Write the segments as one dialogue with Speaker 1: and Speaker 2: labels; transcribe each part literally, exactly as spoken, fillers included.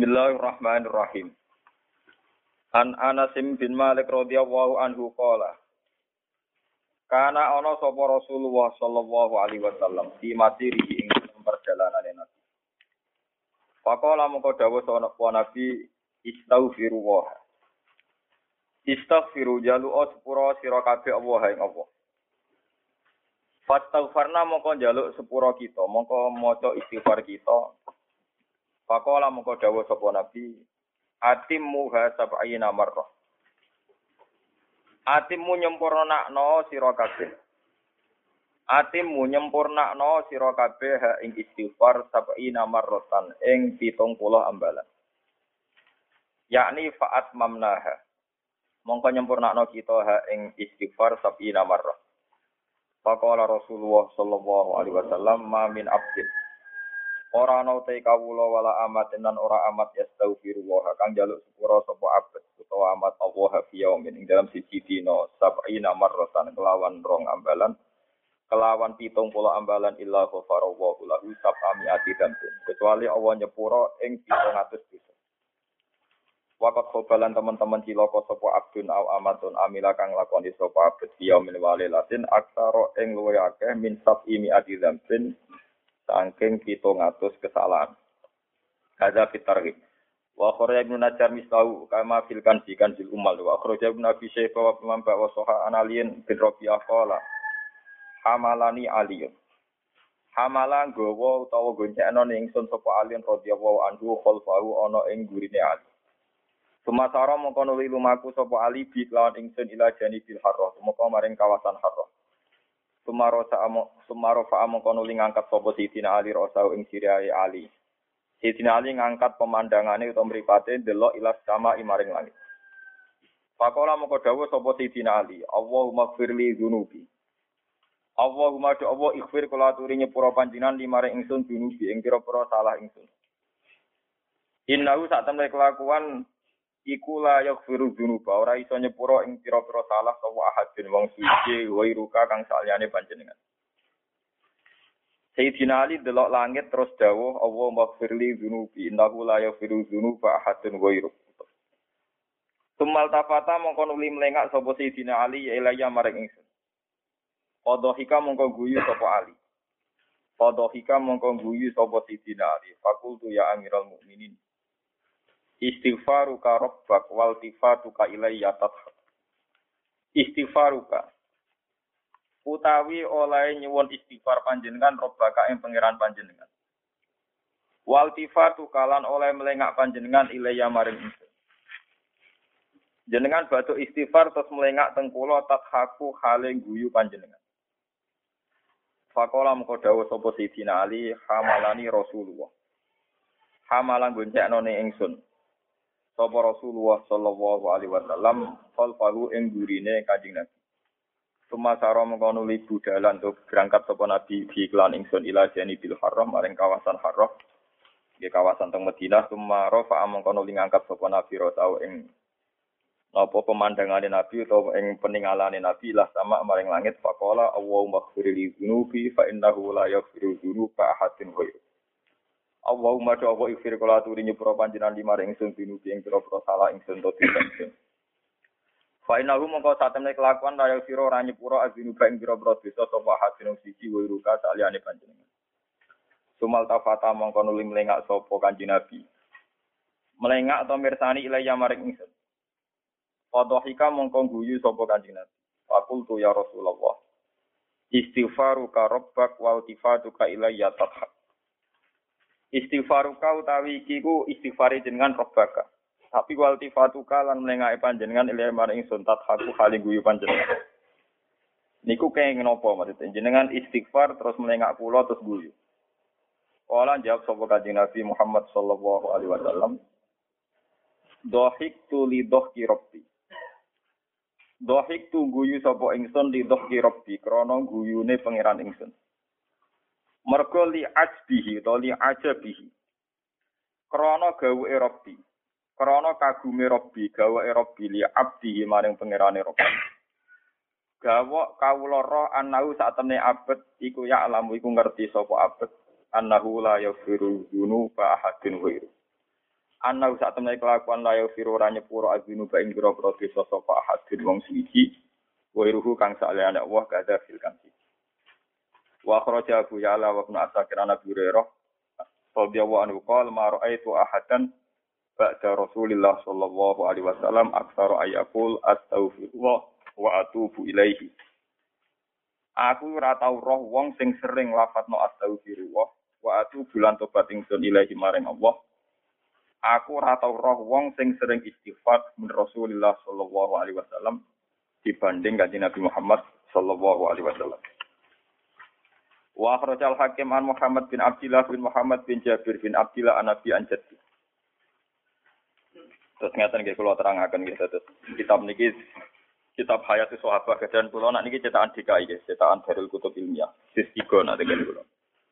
Speaker 1: Bismillahirrahmanirrahim. An Anas bin Malik radhiyallahu anhu qala Kana ana sapa Rasulullah sallallahu alaihi wasallam di masiri ing perjalanane Nabi. Faqala mongko dawuh sapa Nabi istaghfiru wa. Istaghfiru jalu sepura sira kabeh Allah ing Allah. Fastaghfarna mongko njaluk sepura kita, mongko maca istighfar kita. Faqala mongko dawuh sapa Nabi atimmu hasab'ina marrah. Atimmu nyempurnakno sira kabeh. Atimmu nyempurnakno sira kabeh ha ing istighfar sab'ina marratan ing pitung puluh ambalan. Yakni fa'at mamnaha. Mongko nyempurnakno kita ha ing istighfar sab'ina marrah. Faqala Rasulullah sallallahu alaihi wasallam ma min abdin ora ana te kawula wala amat lan ora amat yastaghfirullah kang njaluk sepura sapa abet utawa amat Allah fi yaumin ing dalam siji dina sab'ina marratan kelawan rong ambalan kelawan pitung puluh ambalan illa ghafarallahu lahu sab'ami'ati dzambin kecuali Allah nyepura ing pitung atus dosa. Waqat khobalan teman-teman cilaka sapa abdun au amatun amila kang lakoni sapa abet fi yaumin walilatin aksara ing luwih akeh min sab'imi'ati dzambin saking pitung atus kesalahan. Hadza fitarghib. Wa kharaja Ibnu Najjar mislahu kama fil kanzi kanzil ummal wa kharaja Ibnu Abi Syaibah wa Imam wa Sahih Analiyin bin Rabi'ah qala hamalani aliyun. Hamala nggawa utawa goncengno ning ingsun sapa alin radhiyallahu anhu khalfahu ana ing gurine ali. Sumasara mongko nuli lumaku sapa ali bi lawan ingsun ila janibil harrah mongko maring kawasan harrah. Sumaro sa'amo sumaro fa'amo kono ling ngangkat sapa Sidina Ali rasau ing sirahe Ali. Sidina Ali ngangkat pemandangane utawa mripate ndelok ilas sama imaring langit. Faqala moko dawuh sapa Sidina Ali, Allahumma ighfirli dzunubi. Allahumma do Allah ighfir kula aturi nyepura panjenengan limaring ingsun dzunubi ing pira-pira salah ingsun. Innahu sak temne kelakuan iku la yaghfiru dzunuba ora iso nyepura ing pira-pira salah sapa ahadin wong suci wairuka kang saliyane panjenengan. Sayyidina Ali delok langit terus dawuh Allah maghfirli dzunubi innahu la yaghfiru dzunuba ahadun wairuk. Tumal tafata mongko nuli mlengak sapa Sayyidina Ali ya ilaya maring ingsun. Qadhika mongko guyu sapa Ali. Qadhika mongko guyu sapa Sayyidina Ali. Fakultu ya Amiral Mukminin istighfaruka rabbak wal tifatuka ilayya tathak. Istighfaruka utawi oleh nyuwun istighfar panjenengan rabbaka ing pangeran panjenengan. Wal tifatuka lan oleh melengak panjenengan ilayya maring ingsun. Jenengan batu istighfar terus melengak teng kula tathaku hale guyu panjenengan. Faqala moko dawuh sapa Sidina Ali hamalani Rasulullah. Hamalan goncekno ning ingsun. Sapa Rasulullah sallallahu alaihi wasallam khalfahu ing gurine Kanjeng Nabi. Sumasara mengkono libu dalan untuk berangkat sapa Nabi di iklan ingsun ila janibil harrah maring kawasan harrah. Di kawasan teng Madinah sumara fa mengkono ngangkat sapa Nabi rotau ing napa pemandangane Nabi utawa ing peningalane Nabi lah sama maring langit faqala Allahumma ighfirli dzunubi fa innahu la yaghfiru dzunuba ahadun ghairu. Allahumma do Allah ighfir kula aturi nyepura panjenengan limaring ingsun binubi ing pira-pira salah ingsun to ingsun. Fa innahu mongko satemene kelakuan raya sira ora nyepura azinuba ing pira-pira dosa sapa hadin siji wiruka saliyane panjenengan. Sumal tafata mongko nuli mlengak sapa Kanjeng Nabi. Mlengak atau mirsani ilaya maring ingsun. Qadhika mongko guyu sapa Kanjeng Nabi. Faqultu ya Rasulullah. Istighfaruka rabbak wa tifatuka ilayya tathak. Istighfaruka utawi iki ku istighfari jenengan robbaka. Tapi wal tifatuka lan mlengake panjenengan ilmu maring ingsun tathaku hale guyu panjenengan. Niku kenging napa maksudnya jenengan istighfar terus mlengak kula terus guyu. Kala jawab sapa Kanjeng Nabi Muhammad sallallahu alaihi wasallam. Dhahiktu li dhahki rabbi. Dhahiktu guyu sapa ingsun li dhahki rabbi krana guyune pangeran ingsun. Mergo li ajbihi to li ajabihi krana gawuke Rabbi krana kagume Rabbi gawuke Rabbi li abdihi maring pangerane Rabbi gawok kawula roh annahu satemene abet iku ya alamu iku ngerti sapa abet annahu la yaghfiru dzunuba ahadin ghairu Ana sak temne kelakuan layo firu ora nyepuro azinu ba ing pira-pira dosa sapa ahadin wong siji wa iruhu kang salehane Allah kada fil kanti. Wa kharaja Abu Ya'la wa Ibnu Asakir an Abi Hurairah radhiyallahu anhu qala ma ra'aitu ahadan ba'da Rasulillah sallallahu alaihi wasallam aktsara ayaqul astaghfirullah wa atubu ilaihi. Aku ora tau roh wong sing sering lafadzno astaghfirullah wa atubu lan tobat ingsun ilaihi maring Allah. Aku ora tau roh wong sing sering istighfar min Rasulillah sallallahu alaihi wasallam dibanding kanjeng Nabi Muhammad sallallahu alaihi wasallam. Wa akhrajal Hakim an Muhammad bin Abdullah bin Muhammad bin Jabir bin Abdullah an Nabi an Jaddi. Terus ngeten nggih kula terangaken nggih terus kitab niki kitab Hayatus Sahabah dan kula nak niki cetakan D K I nggih, cetakan Darul Kutub Ilmiah. Sis tiga nak ten kula.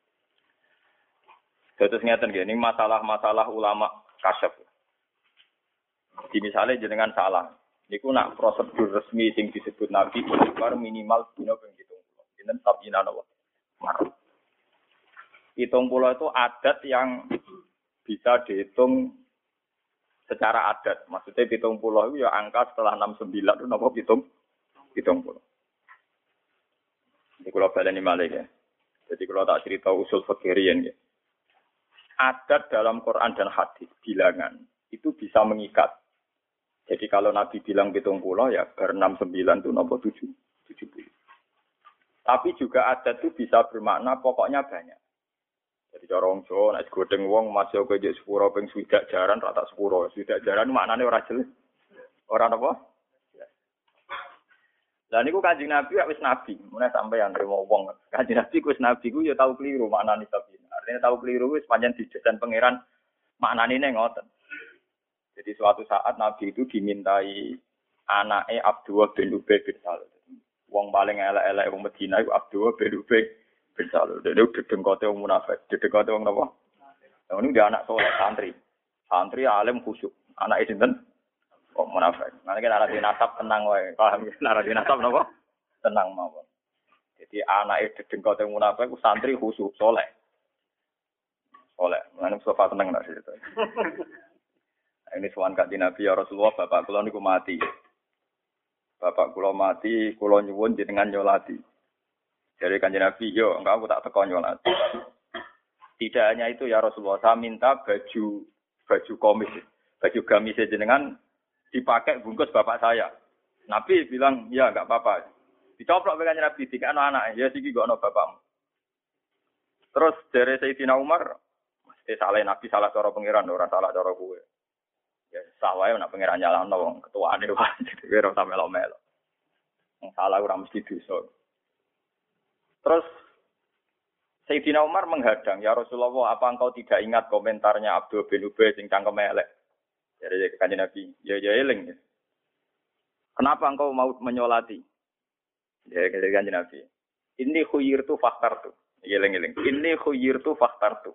Speaker 1: Terus ngeten nggih, ini masalah-masalah ulama kasyaf. Di misalnya jenengan salah, niku nak prosedur resmi sing disebut Nabi istighfar minimal dina ping pitung puluh. Dinten sabina napa? Marah. Hitung pulau itu adat yang bisa dihitung secara adat. Maksudnya hitung pulau itu ya angka setelah enam puluh sembilan itu apa hitung? Hitung pulau. Jadi kalau baleni malih ya. Jadi kalau tak cerita usul fikirian ya. Adat dalam Quran dan hadis bilangan itu bisa mengikat. Jadi kalau Nabi bilang hitung pulau ya ber enam puluh sembilan itu apa tujuh puluh. Tapi juga adat itu bisa bermakna pokoknya banyak. Jadi cara wong Jawa nek godheng wong masuk ke jek sepuro ping swidak jaran rata sepuro. Swidak jaran maknane ora jelas. Ora napa? Lah niku Kanjeng Nabi wis nabi, mulai sampeyan remo wong. Kanjeng Nabi wis nabi ku ya tau keliru maknane tapi. Artinya tau keliru wis pancen dijejan pangeran maknane ngoten. Jadi suatu saat Nabi itu dimintai anake Abdullah bin Ubay bin Salul. Wong paling elek-elek wong Madinah iku Abdullah bin Ubay bin Salul. Dene dedengkote wong munafik, dedengkote wong napa? Lah niku dia anak soleh santri. Santri alim khusyuk. Anake sinten? Wong munafik. Manane nek arep nasab tenang wae. Paham ya? Nek arep nasab napa? Tenang mawon. Jadi anake dedengkote wong munafik ku santri khusyuk soleh. Soleh. Manane sofa tenang nek cerita. Ini sowan kanjeng Nabi ya Rasulullah, bapak kula niku mati. Bapak kula mati, kula nyuwun jenengan nyolati. Dari kanjeng Nabi, yo engkau aku tak teko nyolati. Tidak hanya itu ya Rasulullah, saya minta baju baju komis, baju gamis jenengan dipakai bungkus bapak saya. Nabi bilang, ya enggak apa-apa. Dicoplok kanjeng Nabi, dikano anak, ya siki gak ono bapakmu. Terus dari Sayyidina Umar, mesti salah Nabi salah cara pangeran, ora salah cara kowe. Ya sawae nek pangeran nyalahno wong ketuane wae dhewe ora sampe melo. Wong salah ora mesti dosa. Terus Sayyidina Umar menghadang, "Ya Rasulullah, apa engkau tidak ingat komentarnya Abdul bin Ubay sing cangkem elek?" Jadi kanjeng Nabi, "Ya ya eling." "Kenapa engkau mau menyolati?" Ya kanjeng Nabi, "Inni khuyirtu fakhtartu." Eling-eling. "Inni khuyirtu fakhtartu."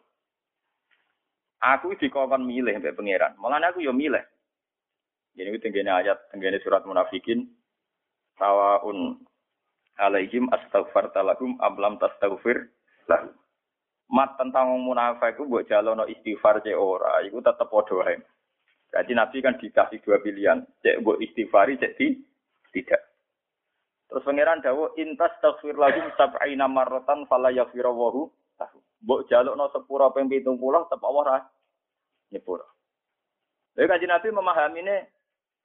Speaker 1: Aku dikongkon milih mbek pangeran. Mulane aku yo milih. Jadi itu tenggene ayat, tenggene surat Munafikin. Sawaun alaihim astaghfarta lahum am lam tastaghfir lahum. Mat tentang wong munafik ku mbok jalono istighfar cek ora, iku tetep padha wae. Berarti Nabi kan dikasih dua pilihan, cek mbok istighfari cek di tidak. Terus pangeran dawuh intas taghfir lahum sab'ina marratan fala yaghfirullahu lahum. Mbok jalukno sepura ping pitung puluh tetep Allah ra nyepura. Lha kanjeng Nabi memahami ne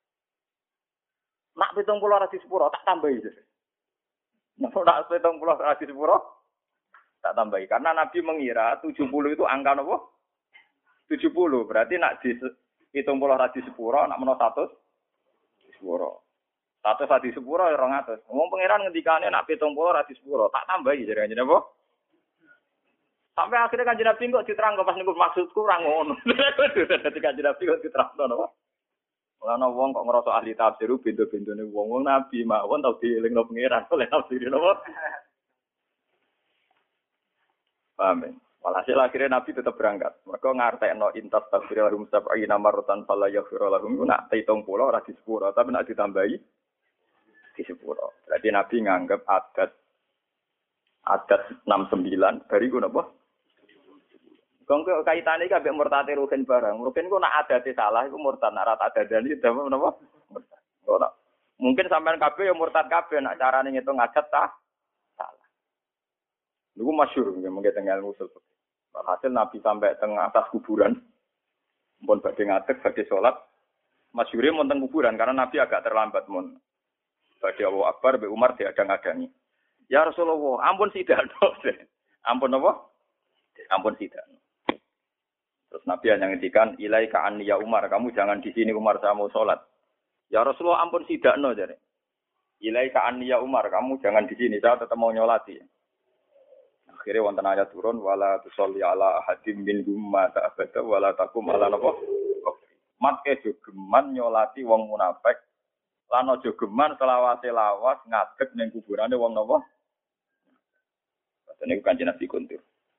Speaker 1: nak pitung puluh ra disepura tak tambahi. Nek nak pitung puluh ra disepura tak tambahi karena Nabi mengira tujuh puluh itu angka napa? tujuh puluh berarti nak di pitung puluh ra disepura nak menawa seratus disepura. seratus ra disepura ya dua ratus. Wong pangeran ngendikane nak pitung puluh ra disepura tak tambahi jare kanjeng napa? Sampai akhirnya kanjeng Nabi kok diterangno pas niku maksudku ora ngono. Dadi kanjeng Nabi kok diterangno napa? Ana wong kok ngrasa ahli tafsir bendo-bendone wong-wong Nabi mawon tau dielingno pangeran oleh tafsir napa? Paham. Walhasil akhirnya Nabi tetap berangkat. Mereka ngartekno intas tafsir lahum sab'ina marratan fala yaghfir lahum nak hitung puluh ora disepuro tapi nak ditambahi disepuro. Berarti Nabi nganggep adat adat enam puluh sembilan bariku napa? Kongko kaitane iki ambek murtate rugen barang. Rugen ku nak adate salah iku murtad, nak rata adadane damel napa? Murtad. Ora. Mungkin sampean kabeh ya murtad kabeh nak carane ngitung adat ta salah. Niku masyhur mungkin teng ilmu usul. Hasil Nabi sampai teng atas kuburan. Mun badhe ngadeg badhe salat. Masyhure mun teng kuburan karena Nabi agak terlambat mun. Badhe Allahu Akbar be Umar diadang-adangi. Ya Rasulullah, ampun sidakno. Ampun apa? Ampun sidakno. Terus Nabi hanya ngendikan, ilaika anni ya Umar, kamu jangan di sini Umar, saya mau sholat. Ya Rasulullah ampun sidakno jare. Ilaika anni ya Umar, kamu jangan di sini, saya tetap mau nyolati. Akhirnya wonten ayat turun, wala tusolli ala ahadim minhum mata abada, wala takum ala napa. Mat ke jogeman nyolati wong munafik, lan aja geman selawase lawas ngadeg ning kuburane wong napa. Padahal niku Kanjeng Nabi kuntur.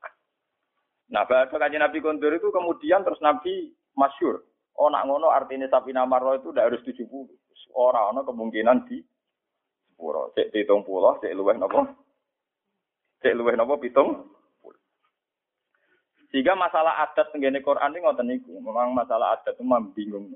Speaker 1: Nah, bahasa Kanjeng Nabi kondur itu kemudian terus Nabi masyhur. Oh, nak ngono artinya Safina Marwa itu tidak harus tujuh puluh. Ora ana kemungkinan di sepuluh. Cek pitung puluh, cek luweh napa? Cek luweh napa pitung puluh. Sehingga masalah adat tenggene Quran iki ngoten niku. Memang masalah adat itu membingung.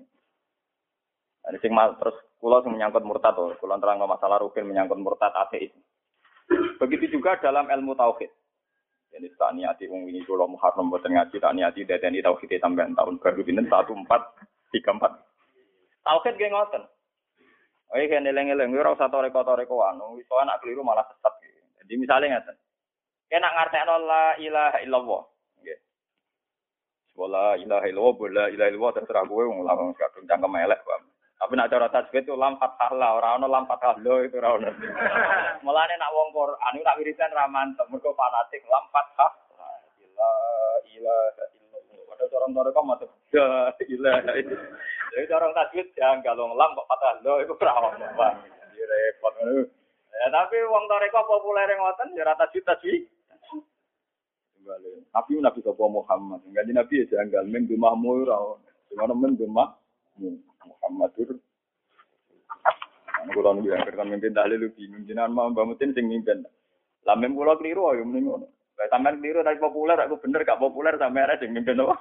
Speaker 1: Ada sing terus kula sing menyangkut murtad to, kula terangno masalah rukin menyangkut murtad ateis. Begitu juga dalam ilmu tauhid. Jadi tak niati wong wingi kula Muharram boten ngaji, tak niati dadeni tauhid sampean tahun baru pinten satu empat tiga empat. Tauhid ge ngoten. Oke kene eling-eling ora usah toreko-torekoan, wis ana keliru malah sesat. Jadi misalnya ngaten. Kena ngartekno la ilaha illallah. Nggih. Wala ilaha illallah, la ilaha illallah terserah kowe wong langsung kadung cangkem elek, Pak. Tapi nek cara tajwid itu lam fathah la, ora ono lam fathah lo itu ora ono. Mulane nek wong Quran iku tak wiridan ra mantep, mergo fanatik lam fathah la ilaha illallah. Padahal cara mereka mantep. La ilaha illallah. Jadi cara tajwid janggal wong lam kok fathah lo iku ora ono, Pak. Di repot ngono. Ya tapi wong toreko populer ngoten ya ra tajwid tajwid. Nabi Nabi sapa Muhammad. Enggak Nabi ya janggal men dumahmu ora ono. Sing ono men dumah Muhammadur. Ana kula niku yang kertan mimpin tahlil bingung jenengan mau mbamutin sing mimpin. Lah mem kula kliru ya mending ngono. Lah sampean kliru tapi populer aku bener gak populer sampean arek sing mimpin apa?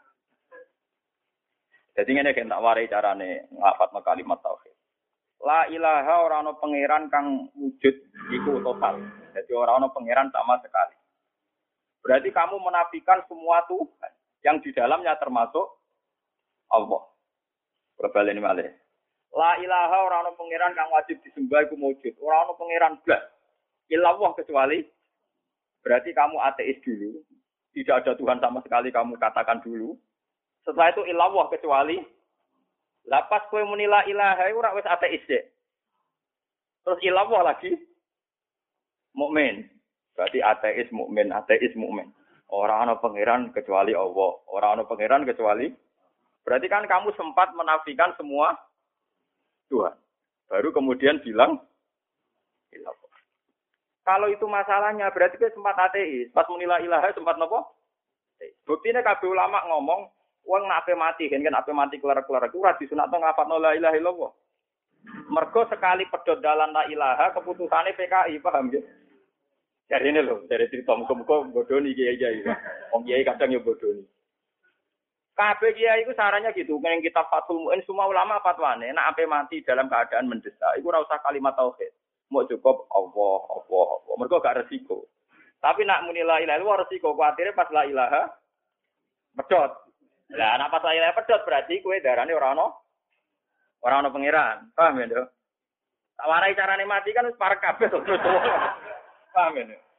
Speaker 1: Jadi ngene kan tak warai carane ngapatno kalimat tauhid. La ilaha ora ana pangeran kang wujud iku total. Jadi ora ana pangeran sama sekali. Berarti kamu menafikan semua Tuhan yang di dalamnya termasuk Allah. Perbalen malih. La ilaha ora ana pangeran kang wajib disembah iku wujud. Ora ana pangeran blas. Illallah kecuali berarti kamu ateis dulu. Tidak ada Tuhan sama sekali kamu katakan dulu. Setelah itu illallah kecuali lapas kowe muni la ilaha iku ora wis ateis sik. Terus illallah lagi mukmin. Berarti ateis mukmin, ateis mukmin. Ora ana pangeran kecuali Allah. Ora ana pangeran kecuali berarti kan kamu sempat menafikan semua Tuhan. Baru kemudian bilang illallah. Kalau itu masalahnya berarti kita sempat ateis. Pas muni la ilaha sempat napa? Buktine kabeh ulama ngomong wong nek ape mati kan kan ape mati kelar-kelar iku ora disunatno nglafatno la ilaha illallah. Mergo sekali pedhot dalan la ilaha keputusane P K I, paham nggih? Jarine lho, dari cerita muga-muga bodoni kiai-kiai. Wong kiai kadang ya bodoni. Kabeh kiai iku sarannya gitu, ning kitab Fathul Mu'in semua ulama fatwane nek ape mati dalam keadaan mendesak iku ora usah kalimat tauhid. Mau cukup Allah, Allah, Allah. Mergo gak resiko. Tapi nak muni la ilaha illallah resiko kuatire pas la ilaha pedhot. Lah nek pas la ilaha pedhot berarti kowe darane ora ono ora ono pangeran. Paham ya, Nduk? Tak warai carane mati kan wis parek kabeh to. Paham ya, Nduk?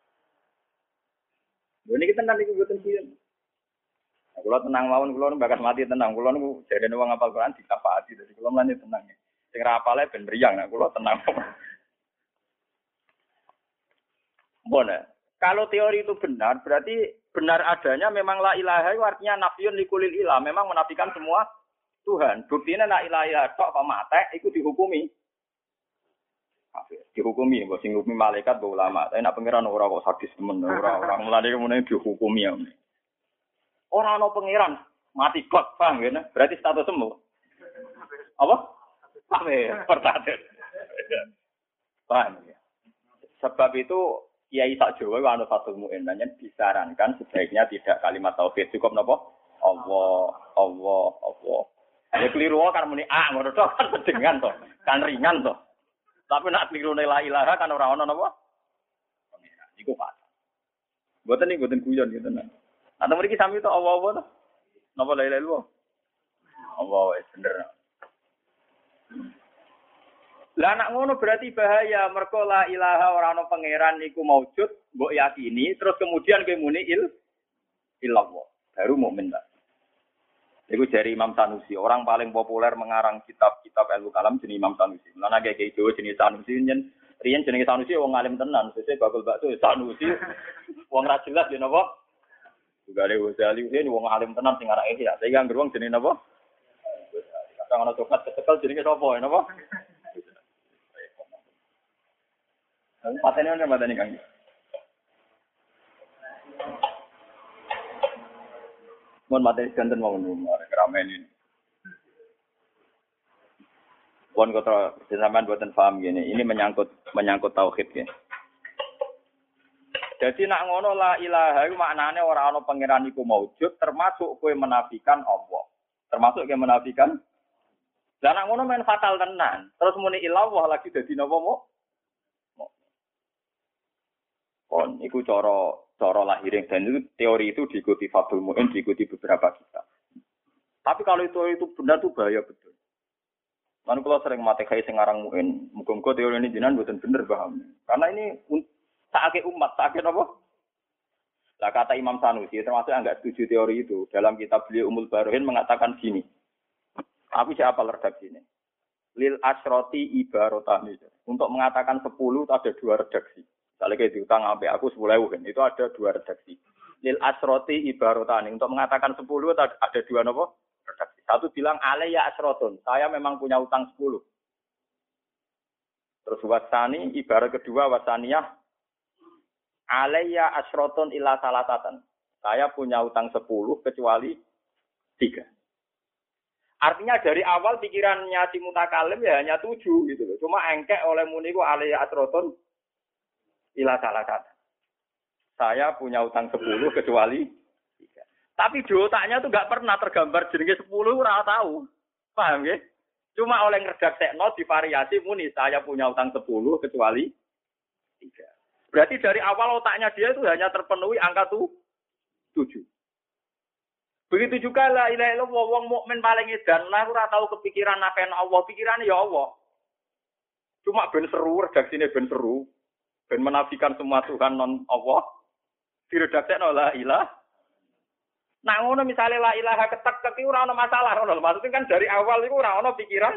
Speaker 1: Lho niki tenan niku mboten piye. Kula tenang mawon, kula bakat mati tenang. Kula niku jarene wong hafal Quran dikafaati, dadi kula mlane tenang. Sing ra hafale ben mriyang, nek kula tenang. Bona, kalau teori itu benar, berarti benar adanya memang la ilaha itu artinya nafiyun likulil ilah, memang menafikan semua Tuhan. Buktinya la ilaha tok apa mate iku dihukumi. Kafir. Dihukumi, mbok sing ngukumi malaikat mbok ulama. Tapi nek pangeran ora kok sadis temen, ora ora mulane kemene dihukumi ya. Ora ana pangeran, mati kok, paham ngene? Berarti status sembuh. Apa? Kafir, pertanyaan. Paham ya? Sebab itu kiai sak Jawa ku anu fatul muin, nanya disarankan sebaiknya tidak kalimat tauhid, cukup napa? Allah, Allah, Allah. Ya keliru kan muni ah ngono tok kan sedengan to, kan ringan to. Tapi nak keliru la ilaha kan ora ono napa? Pengiran. Iku fatal. Mboten iki mboten guyon gitu nah. Atau mriki sami to Allah Allah to. Napa la ilaha illallah? Allah wis bener. Lah anak ngono berarti bahaya, mergo la ilaha ora ana pangeran niku maujud, mbok yakini, terus kemudian kowe muni il illallah, baru mukmin ta. Iku dari Imam Sanusi, orang paling populer mengarang kitab-kitab ilmu kalam jenenge Imam Sanusi. Lan akeh kiai Jawa jenenge Sanusi nyen, riyen jenenge Sanusi wong alim tenan, sesuk bakul bakso Sanusi. Wong ra jelas ya napa? Juga ada Ghazali ini wong alim tenan sing arek iki ya. Saiki anggere wong jenenge napa? Kadang ana coklat ketekel jenenge sapa ya napa? Patene ana matane Kang. Mon materi ganten mau ngono ramen ini. Pon kota sampean boten paham gini, ini menyangkut menyangkut tauhid ya. Jadi nak ngono la ilaha iku maknane ora ana pangeran iku maujud, termasuk kowe menafikan Allah. Termasuk kowe menafikan. Lah nak ngono men fatal tenan. Terus muni ilallah lagi dadi napa mo? Kon iku cara cara lahiring dan itu teori itu diikuti Fadul Mu'in, diikuti beberapa kitab. Tapi kalau itu itu benar tuh bahaya betul. Kan kalau sering mati kayak sengarang Mu'in, muga-muga teori ini jenengan mboten bener paham. Karena ini sakake umat, sakake apa? Lah kata Imam Sanusi termasuk yang enggak setuju teori itu, dalam kitab beliau Umul Barohin mengatakan gini. Aku siapa redaksi ini? Lil asyroti ibarotani. Untuk mengatakan sepuluh ada dua redaksi. Kalau kayak diutang sampai aku sepuluh ribu kan, itu ada dua redaksi. Lil asroti ibarotani. Untuk mengatakan sepuluh ada dua nopo redaksi. Satu bilang alaiya asrotun. Saya memang punya utang sepuluh. Terus wasani ibarat kedua wasaniyah alaiya asrotun illa salatatan. Saya punya utang sepuluh kecuali tiga. Artinya dari awal pikirannya si mutakalim ya hanya tujuh gitu loh. Cuma engkek oleh muniku alaiya asrotun ila salah kata. Saya punya utang sepuluh kecuali tiga. Tapi di otaknya tuh nggak pernah tergambar jenenge sepuluh, ora tahu. Paham ya? Cuma oleh ngredaksekno divariasi muni saya punya utang sepuluh kecuali tiga. Berarti dari awal otaknya dia itu hanya terpenuhi angka tuh tujuh. Begitu juga la ilaha illallah wong mukmin paling edan lah ora tahu kepikiran nafen Allah, pikirane ya Allah. Cuma ben seru redaksine ben seru. Ben menafikan semua Tuhan non Allah, diredaksekno la ilah. Nah ngono misale la ilaha ketek-ketek iki ora ono masalah ngono. Maksudnya kan dari awal iku ora ono pikiran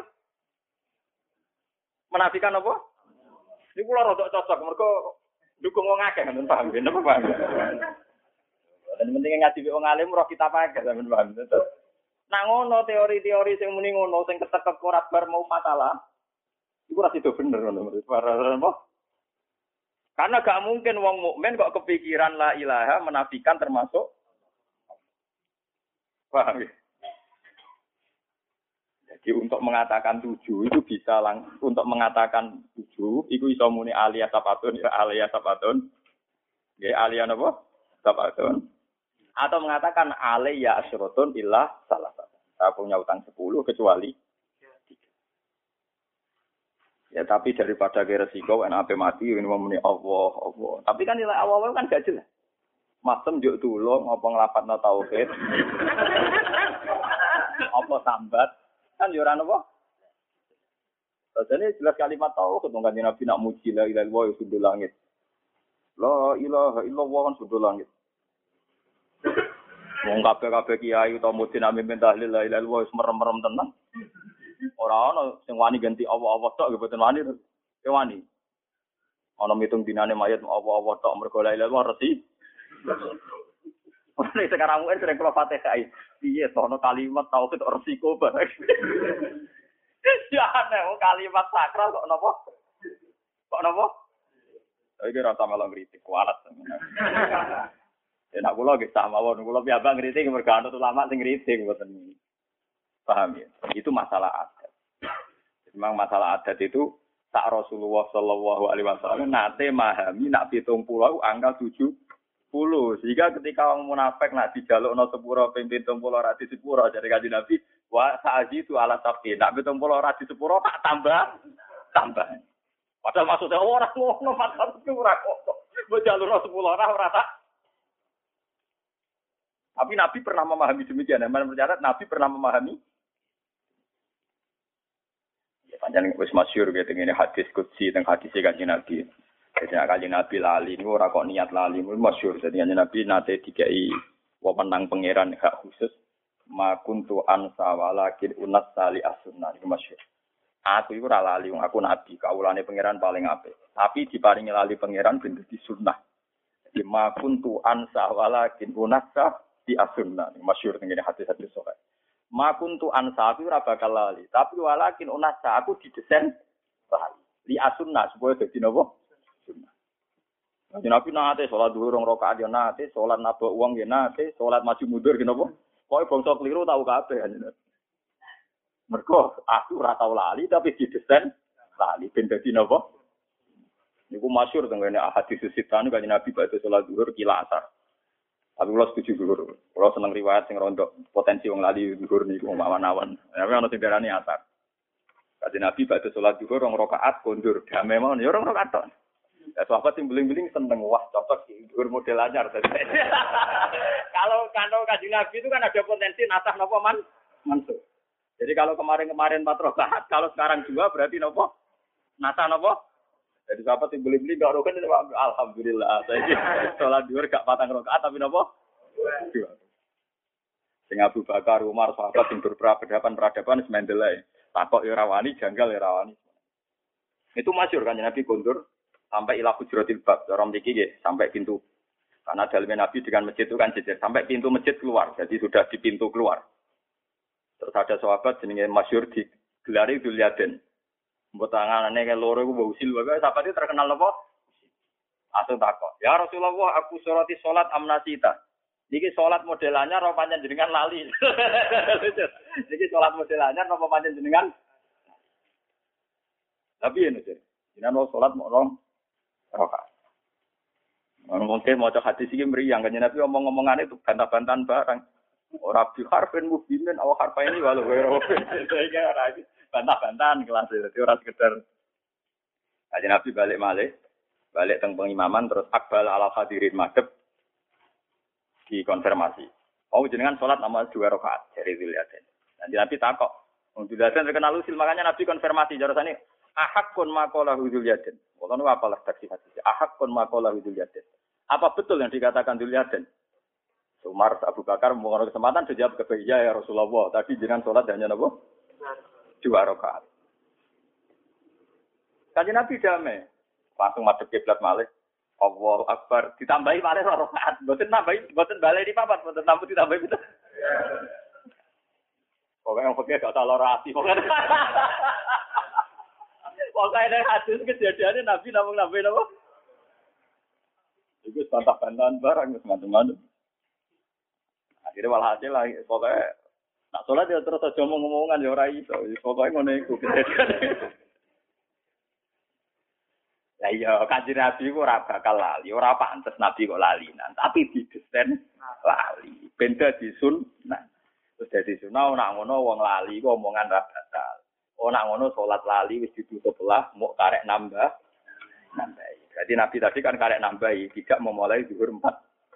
Speaker 1: menafikan apa? Iku kula rodok cocok mergo dukung wong akeh ngono paham ben apa paham. Dan penting ngaji wong alim roh kita pakai sampean paham. Nah ngono teori-teori sing muni ngono sing ketek-ketek ora bar mau masalah. Iku ora sido bener ngono. Apa? Karena gak mungkin wong mukmin kok kepikiran la ilaha menafikan termasuk. Paham ya? Jadi untuk mengatakan tujuh itu bisa lang untuk mengatakan tujuh itu iso muni alia sabatun ya alia sabatun. Ya alia apa? Sabatun. Atau mengatakan alia asyrotun illa salah satu. Saya punya utang sepuluh kecuali ya tapi daripada ke resiko en ape mati ini muni Allah Allah. Tapi kan nilai awal-awal kan gak jelas. Masem juk tulung apa nglapatno tauhid. Apa sambat kan yo ora napa. Jadi jelas kalimat tauhid kan Nabi nak muji la ilaha illallah sudul langit. La ilaha illallah kan sudul langit. Wong kabeh-kabeh kiai utawa mudin amin tahlil la ilaha illallah merem-merem tenan. Ora ana sing wani ganti Allah-Allah tok nggih boten wani. Ya wani. Ana mitung dinane mayit Allah-Allah tok mergo la ilaha illallah resi. Ora sekarang mungkin sering kula Fatihah. Piye to ana kalimat tauhid resiko bareng. Ya ana kalimat sakral kok napa? Kok napa? Iki rasa malah ngritik kualat. Ya nak kula nggih sama mawon kula piyambak ngritik mergo ana ulama sing ngritik mboten. Paham ya? Itu masalah adat. Memang masalah adat itu sak Rasulullah sallallahu alaihi wasallam nate memahami nak pitung puluh angka tujuh puluh. Sehingga ketika orang munafik nak dijalukno sepuro ping pitung puluh ra di sepuro dari kanjeng Nabi, wa sa'ji itu ala sapi. Nak pitung puluh ra di sepuro tak tambah tambah. Padahal maksudnya orang ngono masalah itu ora kok. Mbok jalukno sepuluh ora ora tak. Tapi Nabi pernah memahami demikian. Mana percaya Nabi pernah memahami. Ya panjang wis masyhur gitu ngene hadis qudsi teng hadis kanjeng Nabi. Jadi kanjeng Nabi lali niku ora kok niat lali masyhur. Jadi kanjeng Nabi nate dikai wewenang pangeran hak khusus ma kuntu ansa walakin unas sali as-sunnah niku masyhur. Aku iku ora lali wong aku nabi, kaulane pangeran paling apik. Tapi diparingi lali pangeran ben dadi sunnah. Jadi ma kuntu ansa walakin unasa di as-sunnah masyhur ngene hadis-hadis sahih. Ma kuntu ansa aku ora bakal lali, tapi walakin unasa aku didesain lali. Li as-sunnah supaya dadi napa? Sunnah. Jadi Nabi nate salat dhuwur rong rakaat yo nate, salat nabok wong yo nate, salat maju mundur ki napa? Pokoke bangsa keliru tau kabeh anjen. Mergo aku ora tau lali tapi didesain lali ben dadi napa? Niku masyhur teng ngene hadis sitan kanjeng Nabi badhe salat zuhur kila asar. Tapi kula setuju zuhur. Kula seneng riwayat sing rondo potensi wong lali zuhur niku mawan-awan. Tapi ana sing darani asar. Kanjeng Nabi badhe salat zuhur rong rakaat kondur damai mawon ya rong rakaat tok. Ya sahabat sing beling-beling seneng wah cocok iki zuhur model anyar. Kalau kandung kanjeng Nabi itu kan ada potensi nasah napa man mansuh. Jadi kalau kemarin-kemarin empat rakaat, kalau sekarang dua berarti nopo? Nasa nopo? Jadi sahabat yang beli-beli gak rokan, alhamdulillah. Saya sholat dua gak patang rakaat tapi nopo? Dua. Sing Abu Bakar, Umar, sahabat yang berperadaban peradaban semendelai. Takok irawani, janggal irawani. Itu masyhur kan Nabi kondur sampai ilah hujratil bab, orang dikiki sampai pintu. Karena dalamnya Nabi dengan masjid itu kan jejer sampai pintu masjid keluar. Jadi sudah di pintu keluar. Terus ada sahabat jenenge masyhur di gelari Dzulyaden. Mbok tangane kaya loro iku mbok usil wae sahabat itu terkenal apa? Asal takok. Ya Rasulullah, aku sholati salat amnasita. Niki salat modelannya ro pancen jenengan lali. Niki salat modelannya ro pancen jenengan. Tapi yen iki. Jenengan salat mok rong rakaat. Mungkin mau cek hadis iki mriyang kan Nabi omong-omongane itu bantah-bantahan barang. Ora bi harfen mubinin awak harfa ini walau wero. Saya ora bantah-bantahan kelas itu ora sekedar. Aja Nabi balik malih, balik teng pengimaman terus akbal ala hadirin madhep dikonfirmasi. Oh jenengan salat nama dua rakaat dari Dzulyaden. Nanti Nabi takok, wong Dzulyaden terkenal usil makanya Nabi konfirmasi jarasane ahakun maqala Dzulyaden. Wala nu apalah taksi hadis. Ahakun maqala Dzulyaden. Apa betul yang dikatakan Dzulyaden? Umar Abu Bakar mengenai kesempatan dijawab ke ya, ya Rasulullah. Tadi jenengan sholat hanya apa? Dua rakaat. Kanjeng Nabi damai. Langsung madhep kiblat malih. Allahu Akbar. Ditambahi malih rakaat. Mboten nambahi, mboten balik di papat, mboten tambah ditambahi betul. Pokoknya yang fakir gak tolerasi. Pokoknya Pokoknya hadis kejadiannya Nabi namung nambahin apa? Itu bantah-bantahan barang macam-macam. Akhirnya walhasil lah, pokoknya nak sholat ya terus aja ngomong-ngomongan ya orang itu, pokoknya ngono iku kejadian. Lah iya, kanjeng Nabi kok ora bakal lali, ora pantes Nabi kok lalinan, tapi didesain lali, ben dadi sunnah. Terus dadi sunnah nak ngono wong lali kok omongan ra batal. Oh nak ngono sholat lali wis ditutup lah, mau karek nambah, nambahi. Jadi Nabi tadi kan karek nambahi, tidak memulai zuhur empat.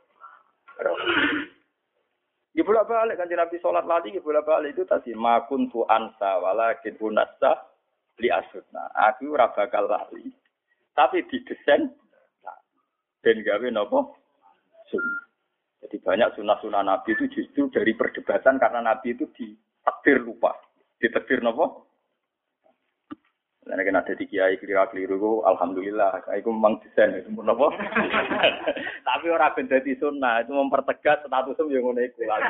Speaker 1: Ya bolak-balik kan Nabi sholat lali, ya bolak-balik itu tadi makun tu ansa walakin unasa li asutna. Aku ora bakal lali, tapi didesain ben gawe napa sunnah. Jadi banyak sunnah-sunnah Nabi itu justru dari perdebatan karena Nabi itu ditakdir lupa, ditakdir napa. Karena kan ada di kiai keliru-keliru, alhamdulillah, itu memang desain itu apa? Tapi orang benda di sunnah itu mempertegas statusnya yang ngono iku lagi.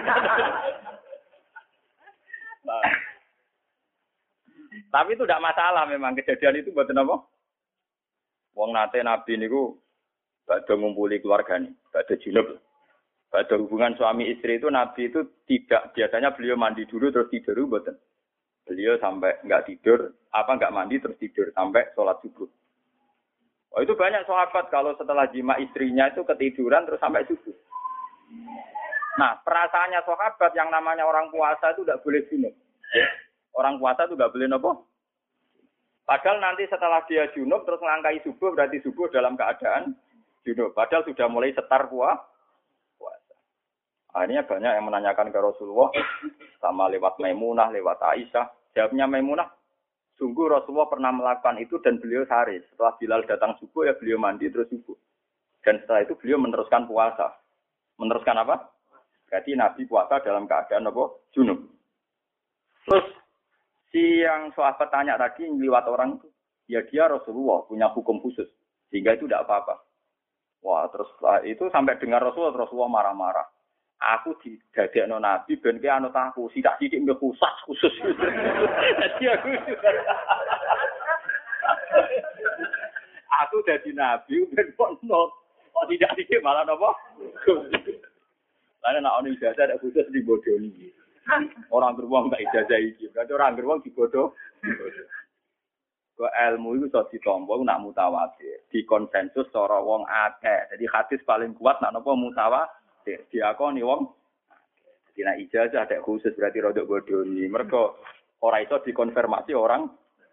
Speaker 1: Nah. Tapi itu tidak masalah memang kejadian itu buat apa? Wong nate Nabi niku badhe ngumpuli keluargane, badhe junub. Badhe hubungan suami istri itu Nabi itu tidak biasanya beliau mandi dulu terus tidur mboten. Beliau sampai nggak tidur, apa nggak mandi terus tidur sampai sholat subuh. Oh itu banyak sahabat kalau setelah jima istrinya itu ketiduran terus sampai subuh. Nah perasaannya sahabat yang namanya orang puasa itu tidak boleh junub. Orang puasa itu nggak boleh nopo. Padahal nanti setelah dia junub terus melangkai subuh berarti subuh dalam keadaan junub. Padahal sudah mulai setar puasa. Akhirnya banyak yang menanyakan ke Rasulullah sama lewat Maimunah, lewat Aisyah. Jawabnya Maimunah. Sungguh Rasulullah pernah melakukan itu dan beliau sehari. Setelah Bilal datang subuh ya beliau mandi terus subuh. Dan setelah itu beliau meneruskan puasa. Meneruskan apa? Jadi Nabi puasa dalam keadaan apa? Junub. Terus si yang sahabat tanya tadi lewat orang itu. Ya dia Rasulullah punya hukum khusus. Sehingga itu tidak apa-apa. Wah terus itu sampai dengar Rasulullah, Rasulullah marah-marah. Aku didadekno Nabi ben ki anut aku sidak-sidik mbek khusus khusus. Dadi aku Aku dadi Nabi ben kono. Kok sidak-sidik malah napa? Lah nek ana ijazah ada khusus dibodoni. Orang beruang tak ijazah iki. Berarti orang beruang dibodoh. Kok ilmu itu iso ditampa nak mutawatir. Di konsensus cara wong akeh. Jadi hadis paling kuat nak napa mutawatir. Diakoni wong. Jadi nek ijazah ada khusus berarti rodok bodoni. Mergo ora iso dikonfirmasi orang.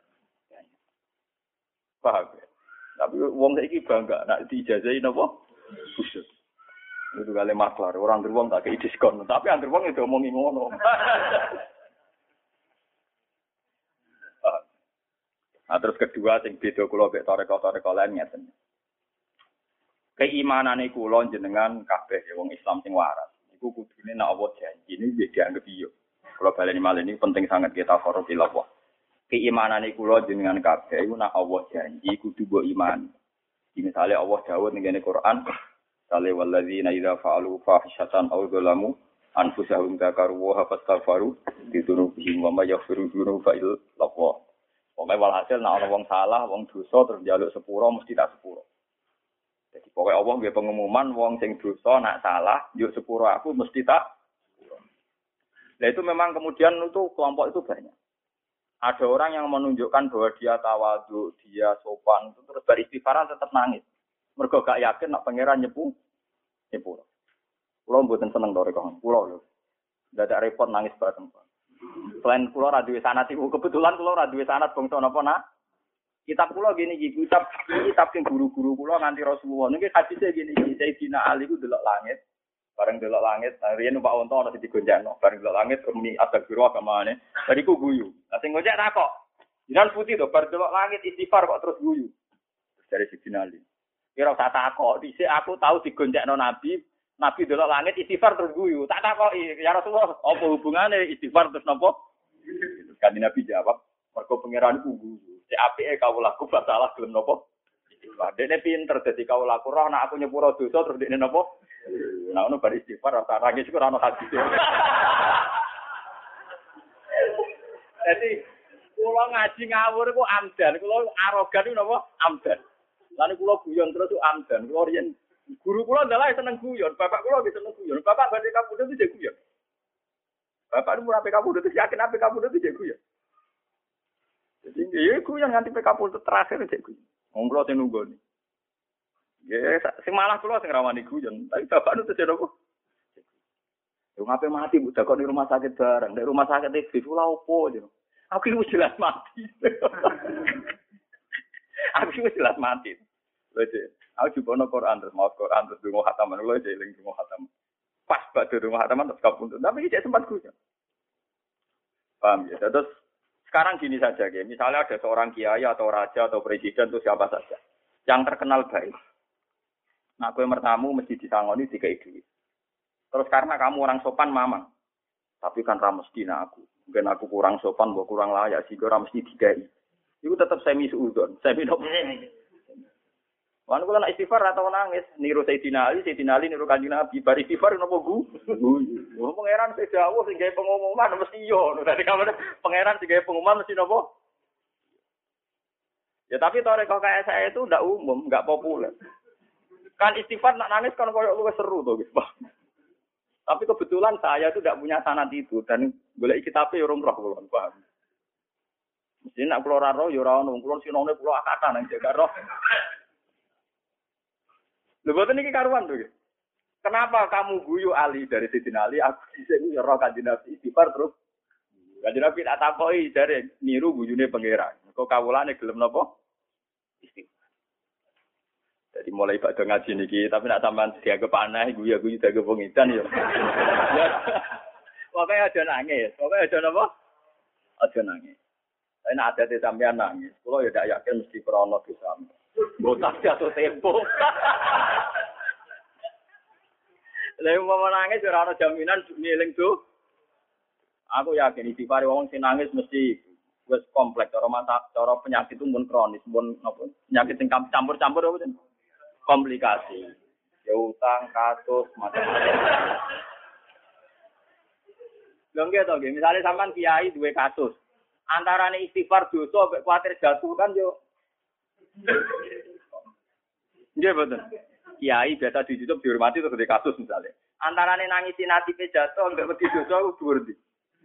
Speaker 1: Paham ya? Tapi wong saiki bangga nek diijazahi napa? Khusus. Itu kali maklar, orang beruang tak kei diskon. Tapi yang beruang itu omongi ngono. Nah, terus kedua sing beda kula mek toreko-toreko lain ngeten. Keimanane kula jenengan kabeh wong Islam sing waras. Iku kudune nek Allah janji ini dianggep iya. Kula baleni malih ini penting sangat kita korup ilawah. Keimanane kula jenengan kabeh iku nek Allah janji kudu mbok iman. Misale Allah dawuh ning Quran, "Sale walladzina idza fa'alu fahishatan aw dzalamu anfusahum dzakaru wa fastaghfaru dzunubihim wa may yaghfiru dzunuba illa Allah." Pokoke walhasil nek ana wong salah, wong dosa terus njaluk sepuro mesti tak sepuro. Jadi pokoknya Allah nggih pengumuman wong sing dosa nak salah, yuk sepuro aku mesti tak. Nah itu memang kemudian itu kelompok itu banyak. Ada orang yang menunjukkan bahwa dia tawadhu, dia sopan, itu terus beristighfar tetap nangis. Mergo gak yakin nak pangeran nyepu, nyepuro. Kulo mboten seneng to rekon. Kulo lho. Dadak repot nangis bareng. Selain kulo ra duwe sanad iku kebetulan kulo ra duwe sanad bangsa napa nak. Kitab kula gini iki, kitab kitab sing guru-guru kula nganti Rasulullah. Niki hadise gini iki, Sayyidina Ali ku delok langit. Bareng delok langit, riyen numpak unta ana sing digonjakno. Bareng delok langit umi astagfirullah kamane. Bariku guyu. Lah sing gonjak tak kok. Jinan putih to, bareng delok langit istighfar kok terus guyu. Dari Sayyidina Ali. Kira usah takok, dhisik aku tahu digonjakno Nabi, Nabi delok langit istighfar terus guyu. Tak takoki, ya Rasulullah, apa hubungane istighfar terus napa? Terus kan Nabi jawab, mergo pangeran iku guyu. Cek apike kawulaku salah gelem napa? Istighfar. Dene pinter dadi kawulaku roh nek aku nyepuro dosa terus dekne napa? Nah ono bar istighfar rasa nangis iku ora ono hadis. Jadi kula ngaji ngawur iku amdan, kula arogan iku napa? Amdan. Lan kula guyon terus iku amdan. Kula riyen guru kula ndalah seneng guyon, bapak kula wis seneng guyon. Bapak badhe kapundhut itu guyon. Bapak nu ora kapundhut itu yakin apa kapundhut itu guyon. Jadi ya guyon nganti kapundhut terakhir cek guyon. Wong kula sing nunggoni. Ya sing malah kula sing rawani guyon, tapi bapak nu terus apa? Yo ngape mati bu dakon di rumah sakit bareng. Di rumah sakit iki kula opo yo. Aku wis jelas mati. Aku wis jelas mati. Lho aku jubono Quran terus mau Quran terus dungo khataman lho aja eling dungo khataman. Pas badhe dungo khataman terus kapundhut. Tapi iki sempat guyon. Paham ya? Terus sekarang gini saja, ya. Misalnya ada seorang kiai atau raja atau presiden atau siapa saja yang terkenal baik. Nah, gue mertamu mesti disangoni tiga duit. Terus karena kamu orang sopan, mamang. Tapi kan ramesti nah aku. Mungkin aku kurang sopan, gue kurang layak, sih gue mesti digai. Itu tetap semi suudon, semi dok. Wan kula nak istighfar atau nangis, niru Sayyidina Ali, Sayyidina Ali niru Kanjeng Nabi, bar istighfar napa gu? Wong pangeran sing dawuh sing gawe pengumuman mesti yo. Dadi kamane pangeran sing gawe pengumuman mesti napa? Ya tapi toreko kayak saya itu ndak umum, enggak populer. Kan istighfar nak nangis kan koyo luwih seru to, Pak. Tapi kebetulan saya itu tidak punya sanad itu dan golek kitabe urung roh kula, paham. Mesti nak kula ora roh ya ora ono, kula sinone kula akatan nang jaga roh. Lho boten iki karuan to. Kenapa kamu guyu Ali dari Sidin Ali? Aku dhisik ya roh Kanjeng Nabi istighfar terus. Kanjeng Nabi tak takoki dari niru guyune pangeran. Kok kawulane gelem napa? Istighfar. Jadi mulai pada ngaji niki, tapi nak sampean dianggap aneh, guyu-guyu dianggap pengidan ya. Ya. Pokoknya aja nangis, pokoknya aja napa? Aja nangis. Tapi nak ada sampean nangis, kula ya ndak yakin mesti krana dosa. Botak jatuh tempo. Lha mau nangis ora ana jaminan ngeling tuh. Aku yakin istighfar wong sing nangis mesti wis kompleks cara mata cara penyakit itu mun kronis, mun napa? Penyakit sing campur-campur apa jeneng? Komplikasi. Ya utang, kasus, macam-macam. Lho nggih to nggih, misale sampean kiai duwe kasus. Antarane istighfar dosa mek kuwatir jatuh kan yo. Nggih betul. Kiai biasa di YouTube dihormati terus di kasus misalnya. Antarane nangisi nasibe jatuh mbek wedi dosa ku dhuwur ndi.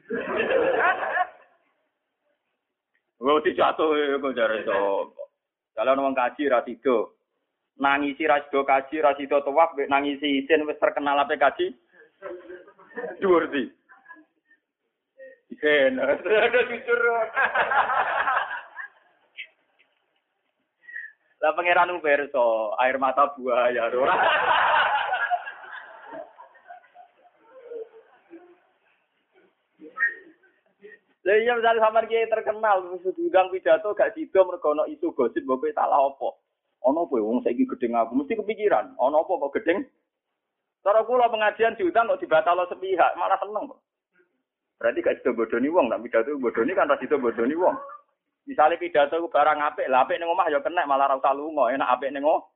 Speaker 1: Wedi jatuh kok jare to. Kalau wong kaji ra tido. Nangisi ra sido kaji ra sido tawaf mbek nangisi isin wis terkenal ape kaji. Dhuwur ndi. Isin, ada jujur. Lah pangeran Uberso, air mata buaya ora. Lah iya misale sampean kiai terkenal wis diundang pidato gak sido mergo ana isu gosip mbok salah apa. Ana kowe wong saiki gedeng aku mesti kepikiran, ana apa kok gedeng? Cara kula pengajian diundang kok dibatalo sepihak, malah seneng kok. Berarti gak sido bodoni wong, nek pidato bodoni kan ra sido bodoni wong. Misale pidato ku barang apik, lah apik ning omah ya kena malah ra usah lunga, enak apik ning omah.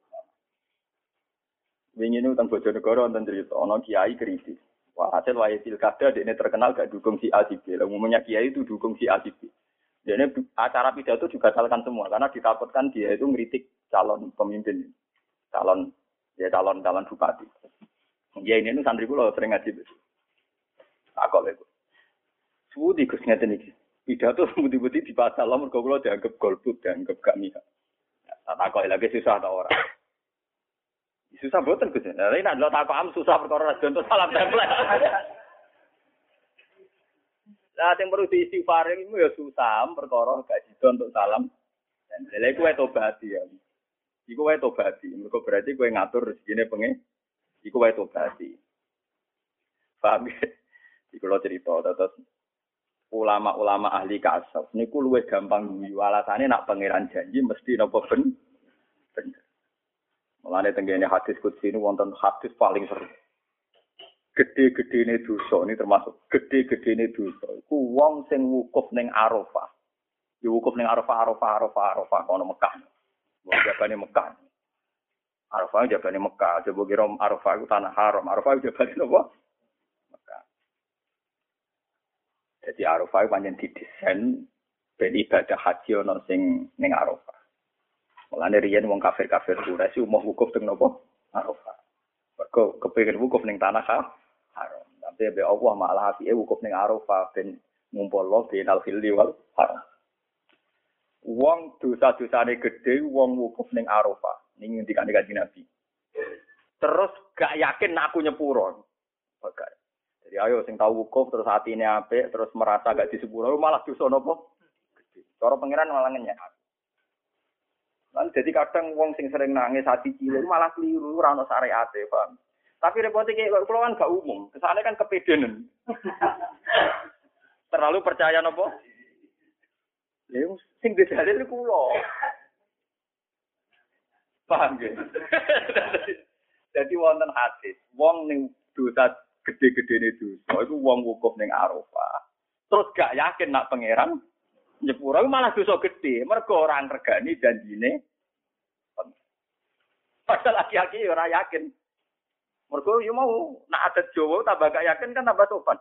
Speaker 1: Wingi niku teng Bojonegoro wonten crita ana kiai kritis. Wah, hasil wae pilkada dekne terkenal gak dukung si A si B. Lah umumnya kiai itu dukung si A si B. Dekne acara pidato dibatalkan semua karena ditakutkan dia itu ngritik calon pemimpin. Calon ya calon calon bupati. Ya ini nu santri kula sering ngaji. Takok lho. Suwi Gus ngeten iki. Pidato budi-budi dibatal mergo kula dianggap golput, dianggap gak mihak. Tak takok lagi susah ta ora. Susah boten Gus. Lah nek ndelok takokan susah perkara contoh salam template. Lah sing perlu diistighfar iku ya susah perkara gak sida untuk salam. Dan lha iku wae tobat ya. Iku wae tobat. Mergo berarti kowe ngatur rezekine pengen. Iku wae tobat. Paham ya? Iku lho cerita terus ulama-ulama ahli kasaf niku luwih gampang guyu alasane nak pangeran janji mesti napa ben bener. Mulane tenggene hadis qudsi niku wonten hadis paling seru. Gede-gedene dosa ini termasuk gede-gedene dosa. Iku wong sing wukuf ning Arafah. Ya wukuf ning Arafah, Arafah, Arafah, Arafah kono Mekah. Wong jabane Mekah. Arafah jabane Mekah, coba kira Arafah iku tanah haram. Arafah jabane napa? Mekah. Jadi Arafah iku pancen didesain ben ibadah haji ana sing ning Arafah. Mulane riyen wong kafir-kafir Quraisy umum wukuf teng napa? Arafah. Mergo kepengin wukuf ning tanah haram. Tapi be Allah malah apike wukuf ning Arafah ben ngumpulno binal hilli wal haram. Wong dosa-dosane gedhe wong wukuf ning Arafah. Ning ndikane Kanjeng Nabi. Terus gak yakin nek aku nyepuro. Bagak. Jadi ayo sing tau wukuf terus atine apik terus merasa gak disepuro malah dosa napa? Gedhe. Cara pangeran malah ngenyek. Lan jadi kadang wong sing sering nangis hati cilik malah keliru ora ono syariate, paham. Tapi repote iki kula kan gak umum, kesane kan kepedenen. Terlalu percaya napa? Ya sing dalil kula. Paham nggih? Jadi wonten hadis, wong ning dosa gede-gedene dosa iku wong wukuf ning Arafah. Terus gak yakin nak pangeran nyepuro malah dosa gede, mergo ora ngregani janjine. Padahal laki-laki ora yakin. Mergo yo mau nak adat Jawa tambah gak yakin kan tambah sopan.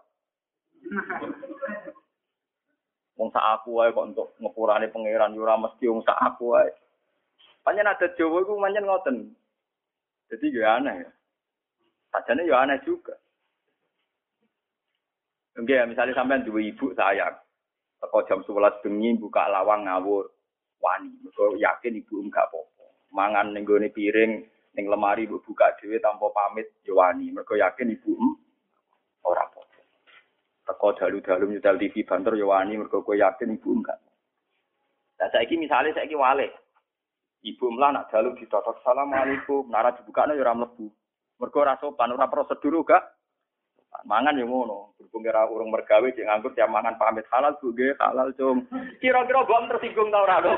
Speaker 1: Wong sak aku wae kok untuk ngepurane pangeran yo ora mesti wong sak aku wae. Pancen adat Jawa iku pancen ngoten. Jadi yo aneh ya. Sajane yo aneh juga. Enggak, misalnya sampean duwe ibu sayang. Teko jam sebelas bengi buka lawang ngawur. Wani, mergo yakin ibu enggak apa-apa. Mangan ning gone piring, ning lemari mbok buka dhewe tanpa pamit yo wani. Mergo yakin ibu em ora apa-apa. Teko dalu-dalu nyetel T V banter yo wani mergo kowe yakin ibu enggak. Lah saiki misale saiki wale. Ibu mlah nak dalu ditotok assalamualaikum, nara dibukane yo ora mlebu. Mergo ora sopan, ora prosedur gak. Mangan yo ngono, berhubung kira urung mergawe cek nganggur tiap mangan pamit halal Bu nggih, halal cung. Kira-kira mbok tersinggung ta ora lho.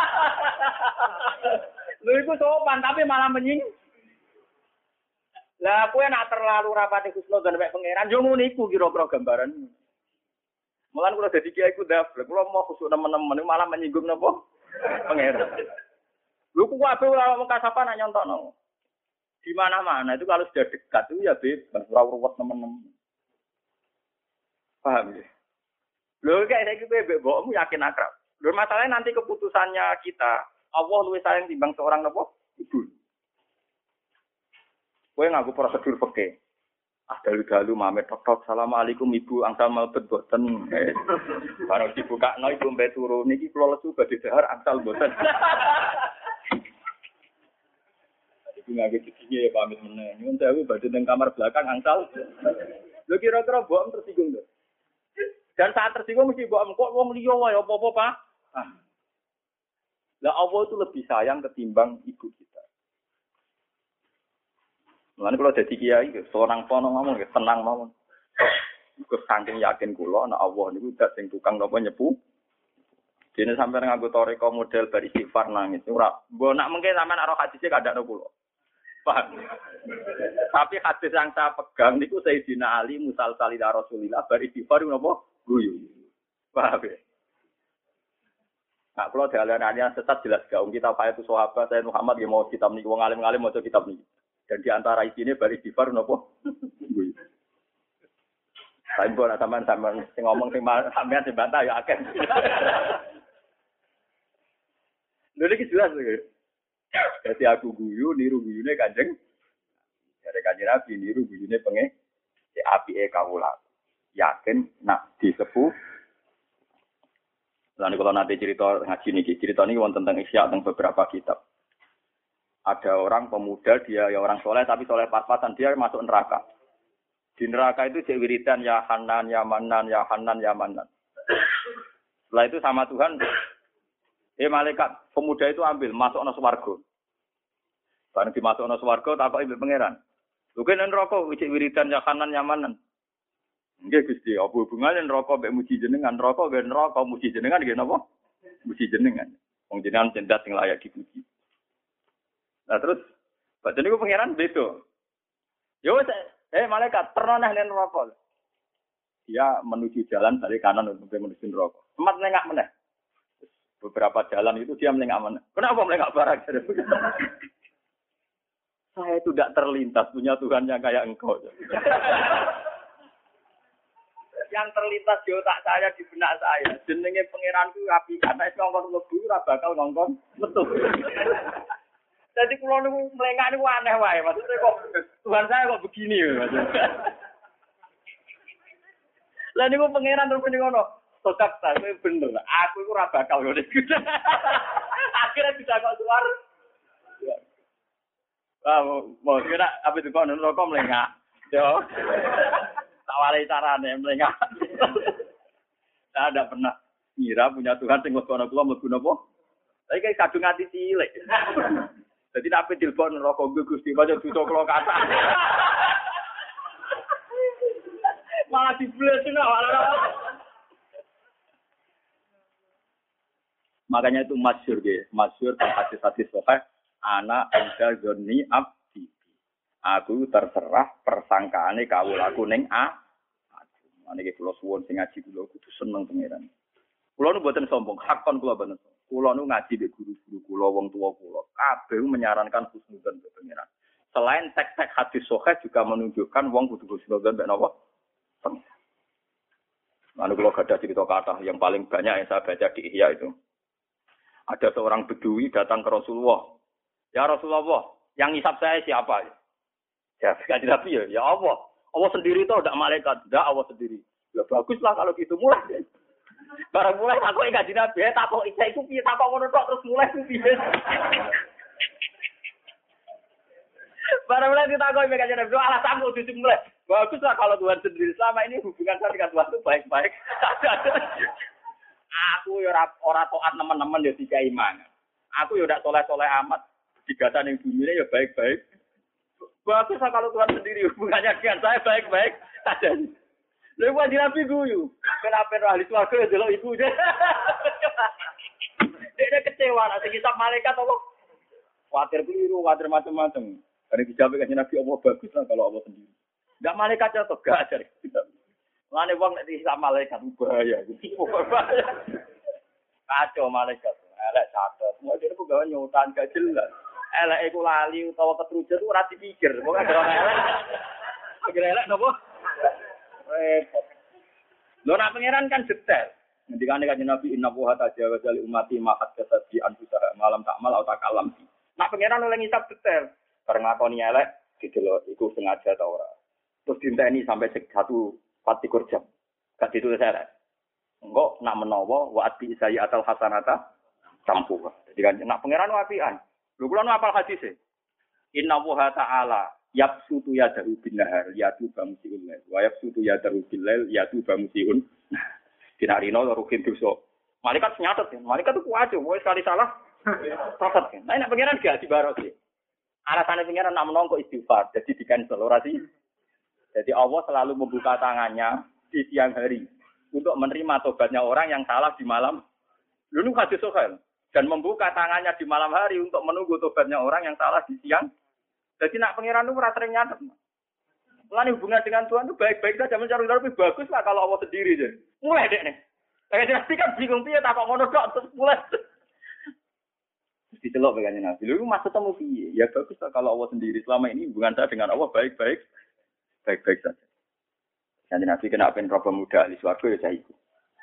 Speaker 1: Lho iku sopan tapi malah menying. Lah kowe nak terlalu rapati husnudzon mek pangeran yo ngono iku kira-kira gambaran. Mulan kula dadi kiai ku ndaf, kula mau khusuk nemen-nemen malah menyinggung napa? Pangeran. Lho ku kabeh ora wong kasapan nak nyontokno. Di mana-mana itu kalau sudah dekat itu ya bebas, ora ruwet teman-teman. Paham ya? Lho kayak saya gitu bebek mbokmu yakin akrab. Lho masalahnya nanti keputusannya kita, Allah luwih sayang timbang seorang nopo? Ibu. Kowe nganggo prosedur peke. Ah dalu-dalu mamet tok-tok assalamualaikum ibu angsal mlebet boten. Baru dibukakno ibu mbek turu niki kula lesu badhe dahar angsal boten. Ngaji cici ya pamit meneh. Nyun sewu badhe nang kamar belakang angsal. Lho kira-kira mbok tersinggung to. Dan saat tersinggung mesti mbok kok wong liya wae apa-apa, Pak. Ah. Lah Allah itu lebih sayang ketimbang ibu kita. Mulane kalau dadi kiai seorang pono ngomong tenang mawon. Iku saking yakin kula nek Allah niku dak sing tukang napa nyepu. Dene sampeyan nganggo toreko model bar istighfar nangis ora. Mbok nak mengke sampean aro hadise kandakno kula. Paham. Tapi hadis yang saya pegang niku Sayyidina Ali musal salila Rasulillah bari istighfar napa guyu. Paham ya? Nah, kalau dalan-dalan sesat jelas gak um kita apa itu sahabat saya Muhammad ya mau kitab niki wong alim-alim maca kitab niki. Dan di antara isine bari istighfar napa guyu. Saya pun sampean sampean sing ngomong sing sampean sing bantah ya akeh. Lha iki jelas lho. Jadi aku guyu, niru guyune Kanjeng. Dari Kanjeng Nabi niru guyune penge si apike kawula. Yakin nak disepuh. Lan kalau nanti cerita ngaji niki, cerita niki wonten tentang Isya tentang beberapa kitab. Ada orang pemuda dia ya orang soleh tapi soleh pas-pasan dia masuk neraka. Di neraka itu cek wiridan ya Hanan ya Manan ya Hanan ya Manan. Setelah itu sama Tuhan eh malaikat pemuda itu ambil masuk ana swarga. Bareng dimasuk ana swarga takoki mbek pangeran. Lho kene neraka wicik wiridan ya kanan nyamanan. Nggih Gusti, apa hubungane neraka mbek muji jenengan? Neraka mbek neraka muji jenengan nggih napa? Muji jenengan. Wong jenengan cendak sing layak dipuji. Nah terus badan niku pangeran beda. Yo eh malaikat terno nang neraka. Dia menuju jalan dari kanan untuk menuju neraka. Semat nengak meneh. Beberapa jalan itu dia melengak mana? Kenapa melengak barang? Saya itu tidak terlintas punya Tuhan yang kayak engkau. Yang terlintas di otak saya di benak saya. Jenenge pangeranku api karena es ngongkon lebu ora bakal ngongkon metu. Jadi kalau niku melengak niku aneh wae. Maksudnya kok Tuhan saya kok begini maksudnya. Lah niku pangeran terus ngono. Sokap ta, kowe bener. Aku iku ora bakal ngene. Akhirnya bisa kok keluar. Ah, mau kira apa itu kono neraka melengak. Yo. Tawale carane melengak. Saya tidak pernah ngira punya Tuhan sing mlebu ana kula mlebu napa. Tapi kayak kadung ati cilik. Dadi nek ape dilebon neraka Gusti pancen dosa kula kata. Malah dibles ngono. Makanya itu masyhur nggih, masyhur hadis-hadis sahih ana anda zonni abdi. Aku terserah persangkaane kawulaku ning a. Niki kula suwun sing ngaji kula kudu seneng pangeran. Kula nu mboten sombong, hakon kula bener. Kula nu ngaji mbek guru-guru kula, wong tuwa kula, kabeh menyarankan husnudzon mbek pangeran. Selain teks-teks hadis sahih juga menunjukkan wong kudu husnudzon mbek napa? Lalu kalau ada cerita kata yang paling banyak yang saya baca di Ihya itu. Ada seorang bedui datang ke Rasulullah. Ya Rasulullah, yang hisab saya siapa? Ya, sekali Nabi ya, ya Allah. Allah sendiri itu tidak malaikat, tidak Allah sendiri. Ya baguslah kalau gitu mulai. Barang mulai aku enggak Nabi, tak kok isa iku piye tak kok ngono tok terus mulai ku piye. Barang mulai ditakoki enggak Nabi, alasan kok dicuk mulai. Baguslah kalau Tuhan sendiri selama ini hubungan saya dengan Tuhan itu baik-baik. Aku ya ora ora taat teman-teman ya dikai mangan. Aku ya ndak soleh-soleh amat. Digatan yang dunia ya baik-baik. Baguslah kalau Tuhan sendiri hubungannya dengan saya baik-baik. Ada. Lha wajib Nabi guyu. Kenapa ahli swarga ya delok ibu. Dia kecewa nek kisah malaikat apa? Khawatir keliru, khawatir macam-macam. Karena dijawab kan Nabi Allah baguslah kalau Allah sendiri. Enggak malaikat atau gak ajar. Lane wong nek disik malaikat bahaya. Kacau malaikat. Elek catet. Mau dene kok gawe nyutan gak jelas. Elek iku lali utawa ketrujet itu ora dipikir. Pokoke ora elek. Agar elek napa? Repot. Lho nak pangeran kan detail. Ngendikane kanjeng Nabi inna wa tajawaza li ummati ma qad kasabi anfusaha malam takmal atau takalam. Nak pangeran oleh ngisap detail. Karena ngakoni elek didelok iku sengaja ta ora. Terus dinteni sampai satu patikur jam. Gak ditulis elek. Engko nak menawa wa ati saya atal hasanata campuh. Jadi kan nak pangeran wapian. Lho kula nu apal hadis e. Inna wa ta'ala yabsutu yadahu bin nahar yatu bamsiul lail. Wa yabsutu yadahu bil lail yatu bamsiun. Dinarino rukin dosa. Malaikat nyatet ya. Malaikat itu kuat yo, wis sekali salah. Catet. Nah nek pangeran gak dibarosi. Alasannya pangeran nak menong kok istighfar. Jadi di cancel ora sih. Jadi Allah selalu membuka tangannya di siang hari untuk menerima tobatnya orang yang salah di malam. Lalu hadis sahih dan membuka tangannya di malam hari untuk menunggu tobatnya orang yang salah di siang. Jadi nak pangeran itu ora sering nyatet. Lan hubungan dengan Tuhan itu baik-baik saja mencari lebih bagus lah kalau Allah sendiri deh. Mulai deh nih. Kayak nanti kan bingung piye tak kok ngono tok terus mulai. Dicelok begini Nabi. Lalu maksud temu piye? Ya bagus lah kalau Allah sendiri. Selama ini hubungan saya dengan Allah baik-baik. Baik-baik saja. Nanti Nabi kena pen problem muda ahli swarga ya saya ikut.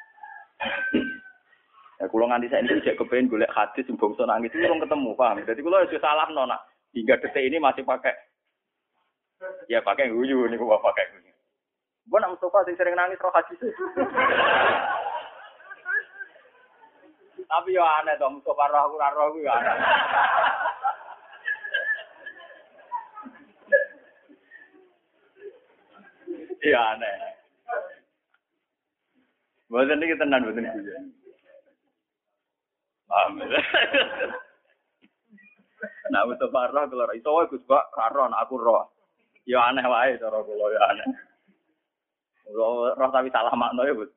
Speaker 1: Ya kula nganti saya ini cek kepen golek hadis sing bangsa nangis itu urung ketemu, paham? Jadi kula wis salah nona. Hingga detik ini masih pakai ya pakai guyu niku kok pakai guyu. Mbok nak Mustafa sing sering nangis roh hadis. Tapi yo aneh to Mustafa roh ora roh kuwi aneh. Iya aneh. Boten iki tenan boten iki. Paham. Nah, untuk parah kalau iso wae Gus Bak karo anak aku roh. Ya aneh wae cara kula ya aneh. Roh tapi salah makna ya, Bu.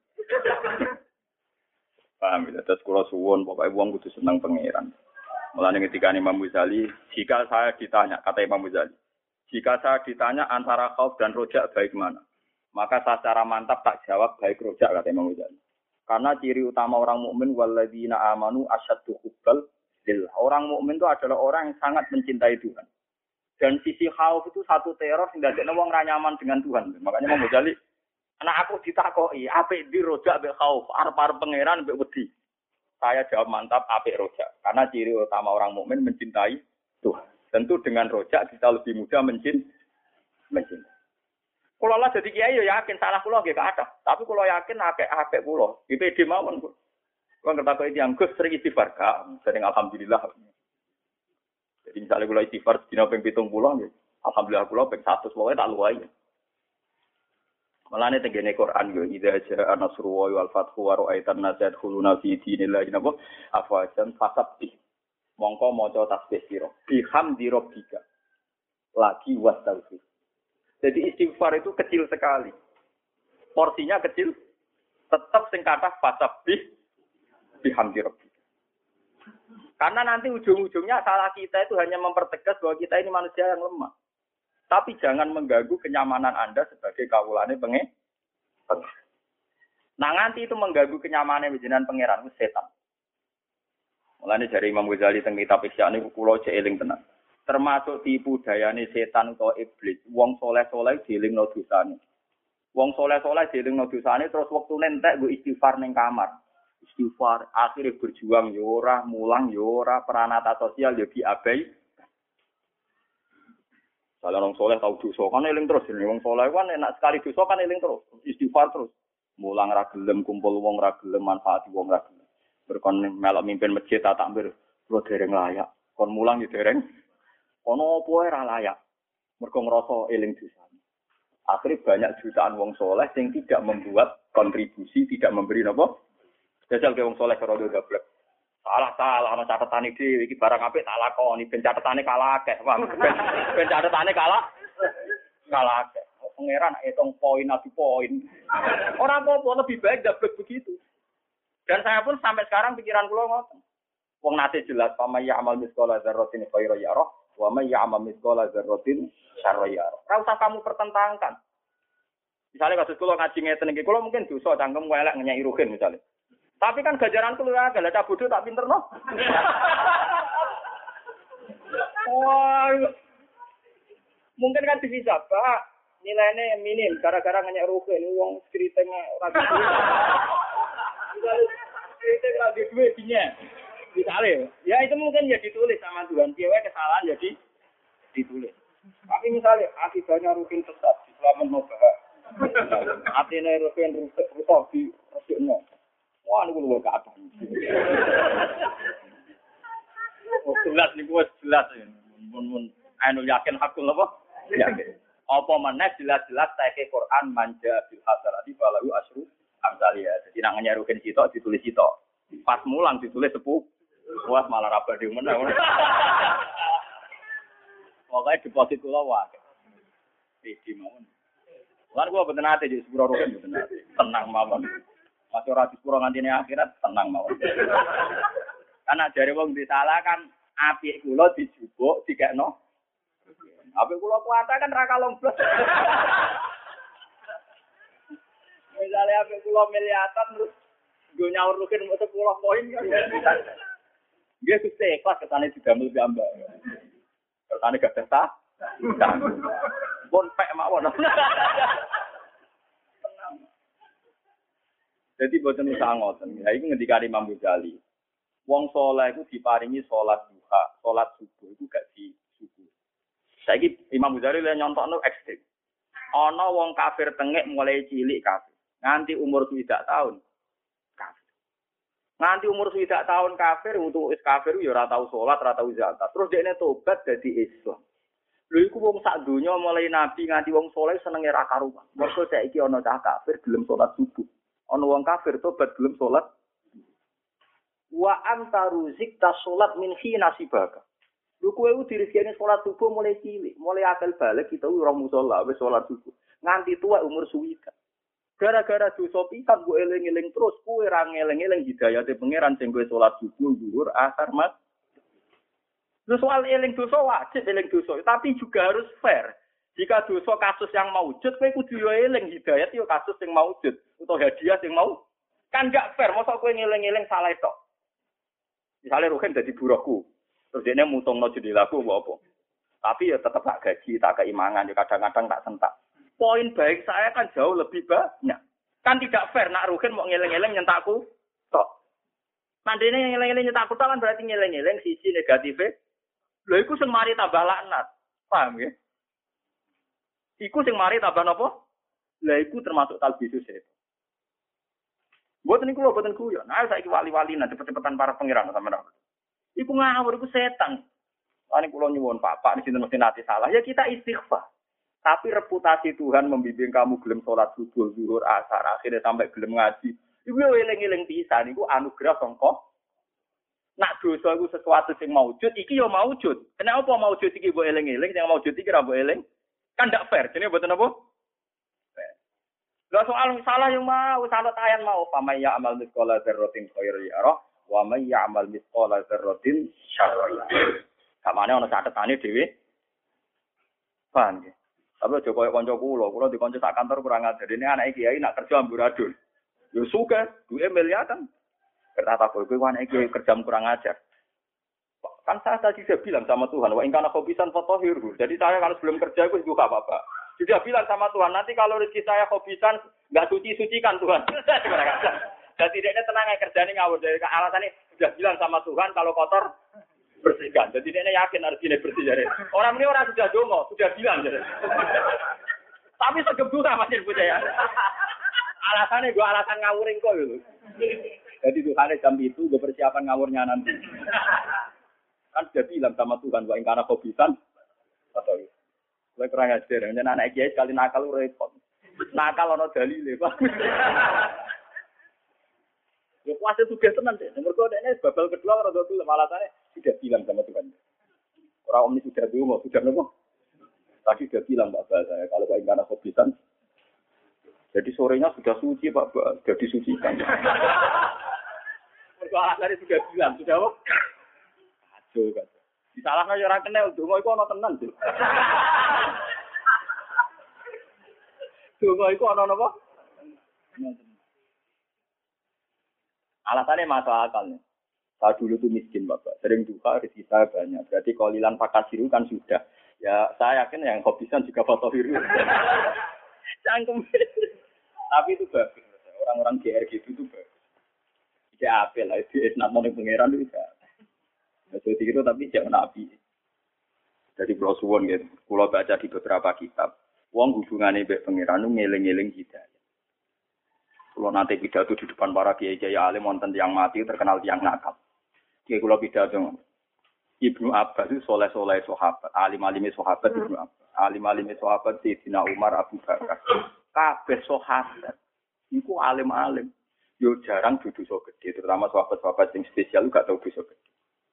Speaker 1: Paham ya, terus kula suwun pokoke wong kudu seneng pangeran. Mulane ketika Imam Ghazali, jika saya ditanya, kata Imam Ghazali, jika saya ditanya antara khauf dan rojak baik mana? Maka saya secara mantap tak jawab baik rojak, kata Imam Ghazali. Karena ciri utama orang mukmin walladzina amanu asyaddu hubbal lillah. Orang mukmin itu adalah orang yang sangat mencintai Tuhan. Dan sisi khauf itu satu teror sing dadekne wong ra nyaman dengan Tuhan. Makanya Imam Ghazali, anak aku ditakoki, apik di rojak mbek khauf, arep-arep pangeran mbek wedi. Saya jawab mantap apik rojak. Karena ciri utama orang mukmin mencintai Tuhan. Tentu dengan rojak kita lebih mudah mencintai. mencintai. Kalau lah jadi kiai ya yakin salah kulo nggih ada. Tapi kulo yakin akeh-akeh kulo. Di P D mawon. Kulo ngertakok iki Gus sering istighfar, Kak. Sering alhamdulillah. Jadi misalnya kulo istighfar dina ping pitung puluh nggih. Alhamdulillah kulo ping seratus pokoke tak luwai. Malane tengene Quran yo idza jaa nasrullahi wal fathu wa ra'aitan nas yadkhuluna fi dinillahi napa afwajan fasabbih. Mongko maca tasbih sira. Bihamdi rabbika. Lagi wastaghfir. Jadi istighfar itu kecil sekali. Porsinya kecil. Tetap sing kathah fasabbih bihamdi rabbika. Karena nanti ujung-ujungnya salah kita itu hanya mempertegas bahwa kita ini manusia yang lemah. Tapi jangan mengganggu kenyamanan Anda sebagai kawulane pengen. Nah nanti itu mengganggu kenyamanan jenengan pangeran itu setan. Mulane dari Imam Ghazali teng kitab Ihya niku kula cek eling tenan. Termasuk tipu dayane setan atau iblis. Wong soleh-soleh dielingno dosane. Wong soleh-soleh dielingno dosane terus wektune entek nggo istighfar ning kamar. Istighfar akhirnya berjuang yo ora, mulang yo ora, peranata sosial yo diabai. Kalau orang soleh tahu dosa kan eling terus, wong soleh kan enak sekali dosa kan eling terus, istighfar terus. Mulang ra gelem kumpul wong ra gelem manfaati wong ra gelem. Berkon melok mimpin masjid tak takbir kula dereng layak. Kon mulang yo dereng. Ono apa ora layak. Mergo ngrasa eling dosane. Akhirnya banyak jutaan wong soleh yang tidak membuat kontribusi, tidak memberi napa. Jajal ke wong soleh karo gablek. Salah-salah ana catetane dhewe iki barang apik tak lakoni, ben catetane kalah akeh. Ben catetane kalah kalah akeh. Pangeran hitung poin adu poin. Orang apa lebih baik gablek begitu. Dan saya pun sampai sekarang pikiran kula ngoten. Wong nate jelas pama ya amal misqala dzarratin khairan yarah wa may ya'mal misqala dzarratin syarran yarah. Ora usah kamu pertentangkan. Misalnya kasus kula ngaji ngeten iki, kula mungkin dosa cangkem elek ngenyai ruhin misalnya. Tapi kan gajaran kula agak lah bodoh tak pinterno. Wah. Mungkin kan bisa, Pak. Nilainya minim gara-gara ngenyai ruhin wong ceritanya ora gitu. Misalnya cerita ora duwe dinya. Misalnya, ya itu mungkin ya ditulis sama Tuhan. Dia kesalahan jadi ditulis. Tapi misalnya akibatnya rutin sesat, selamat mau bahas. Artinya rutin rusak rusak di rusiknya. Wah, ini gue gak ada. Oh jelas nih gue jelas ya. Mun anu yakin hakul apa? Yakin. Apa mana jelas-jelas saya ke Quran manja bil hasanati falahu asyru amsalia. Jadi nak nyarukin sitok ditulis sitok. Pas mulang ditulis sepuh. Wah malah raba di mana? Pokoknya deposit kula wae. Iki mawon. Lan gua mboten ate di sepuro rugen mboten ate. Tenang mawon. Masih ora di sepuro ngantine akhirat tenang mawon. Karena jare wong disalah kan apik kula dijubuk dikekno. Apik kula kuwata kan ra kalong blas. Misalnya apik kula miliatan terus nggo nyaur rugen mung sepuluh poin kan. Dia sukses kelas ketane digamel gambar. Ketane gak sah. Pun pek mawon. Jadi boten usah ngoten. Ya iki ngendikane Imam Ghazali. Wong saleh iku diparingi salat duha, salat subuh iku gak di subuh. Saiki Imam Ghazali le nyontokno ekstrem. Ana wong kafir tengek mulai cilik kafir, nganti umur swidak tahun. Nganti umur swidak tahun kafir, untuk is kafir ya ora tau salat, ora tau zakat. Terus dekne tobat dadi Islam. Lho iku wong sak donya mulai nabi nganti wong saleh senenge ra karuan. Mergo saiki ana cah kafir gelem salat subuh. Ana wong kafir tobat gelem salat. Wa antaru zikta salat min hina sibaka. Lho kowe ku dirizkine salat subuh mulai cilik, mulai akal balik kita ora musala wis salat subuh. Nganti tua umur swidak. Gara-gara dosa pisan mbok eling-eling terus kowe ra ngeling-eling hidayate pangeran sing kowe salat subuh zuhur asar mat. Terus soal eling dosa wajib eling dosa, tapi juga harus fair. Jika dosa kasus yang maujud kowe kudu yo eling hidayat yo kasus sing maujud utawa hadiah sing mau. Kan gak fair mosok kowe ngeling-eling salah tok. Misale Ruhin dadi buruhku. Terus dene mutungno jendelaku apa? Tapi ya tetep tak gaji, tak keimangan, ya kadang-kadang tak sentak. Poin baik saya kan jauh lebih banyak. Kan tidak fair nak Ruhin mau ngeleng-ngeleng nyentakku tok. Mandene ngeleng-ngeleng nyentakku tok kan berarti ngeleng-ngeleng sisi negatifnya. Lho iku sing mari tambah laknat. Paham ya? Iku sing mari tambah napa? Lah iku termasuk talbisus itu. Mboten niku lho mboten guyon. Nah saiki wali-wali nah cepet-cepetan para pangeran sampeyan. Iku ngawur iku setan. Lan kula nyuwun Pak, di sini mesti nanti salah. Ya kita istighfar. Tapi reputasi Tuhan membimbing kamu gelem sholat subuh, zuhur, asar, akhirnya sampai gelem ngaji. Iku yo eling-eling pisan niku anugerah sangka. Nak dosa iku sesuatu sing maujud, iki yo maujud. Kenapa maujud iki mbok eling-eling, sing maujud iki ra mbok eling? Kan ndak fair. Jenenge mboten apa? Fair. Lah soal salah yo mau, salah tayan mau, famay ya'mal mithqala dzarratin khairan yarah, wa may ya'mal mithqala dzarratin syarran yarah. Kamane ana catetane dhewe. Paham ya? Tapi aja koyo kanca kula, kula di kanca sak kantor kurang ajar. Dene anake kiai nak kerja amburadul. Yo suka, duwe miliatan. Kata tak kowe anake kiai kerja kurang ajar. Kan saya tadi sudah bilang sama Tuhan, wa in kana khobisan fatahhirhu. Jadi saya kalau sebelum kerja itu juga apa-apa. Sudah bilang sama Tuhan, nanti kalau rezeki saya khobisan enggak suci-sucikan Tuhan. Dan tidaknya tenang aja kerjane ngawur dari alasannya sudah bilang sama Tuhan kalau kotor bersihkan. Jadi dia yakin harus ini bersih jadi. Orang ini orang sudah dongo, sudah bilang jadi. Tapi segebu sama sih bu saya. Alasannya gue alasan ngawuring kok gitu. Jadi Tuhan jam itu gue persiapan ngawurnya nanti. Kan sudah bilang sama Tuhan, wa ingkana khobisan atau gue kurang ajar. Jadi anak kiai sekali nakal repot. Nakal ono dalile, Pak. Ya kuasa tugas tenan deh. Nomor kode ini babal kedua orang tua alasannya sudah bilang sama Tuhan. Orang om ini sudah dulu mau sudah nopo. Tadi sudah bilang Pak saya kalau Pak Ingkana khobisan. Jadi sorenya sudah suci Pak, sudah disucikan. Mergo alasannya sudah bilang, sudah apa? Aduh, kan. Disalahno ya ora kenal, donga iku ana tenan, Dik. Donga iku ana napa? Alasannya masuk akal nih. Saya dulu tuh miskin Bapak, sering duka rezeki saya banyak. Berarti kolilan pakasiru kan sudah. Ya saya yakin yang hobisan juga fotohiru. Cangkem. Tapi itu bagus. Orang-orang G R gitu itu bagus. Tidak apel lah. Itu nama yang pangeran itu tidak. Jadi itu tapi jangan nabi. Dari Pulau Suwon gitu. Pulau baca di beberapa kitab. Wong hubungannya dengan pangeran itu ngeling-ngeling hidayah. Kalau nanti pidato di depan para kiai-kiai alim wonten yang mati terkenal yang nakal. Kiai kula pidato Ibnu Abbas itu soleh-soleh sahabat, alim-alime sahabat Ibnu Abbas, alim-alime sahabat Sayyidina Umar, Abu Bakar. Kabeh sahabat iku alim-alim. Yo jarang dudu so gede, terutama sahabat-sahabat yang spesial gak tau dosa gede.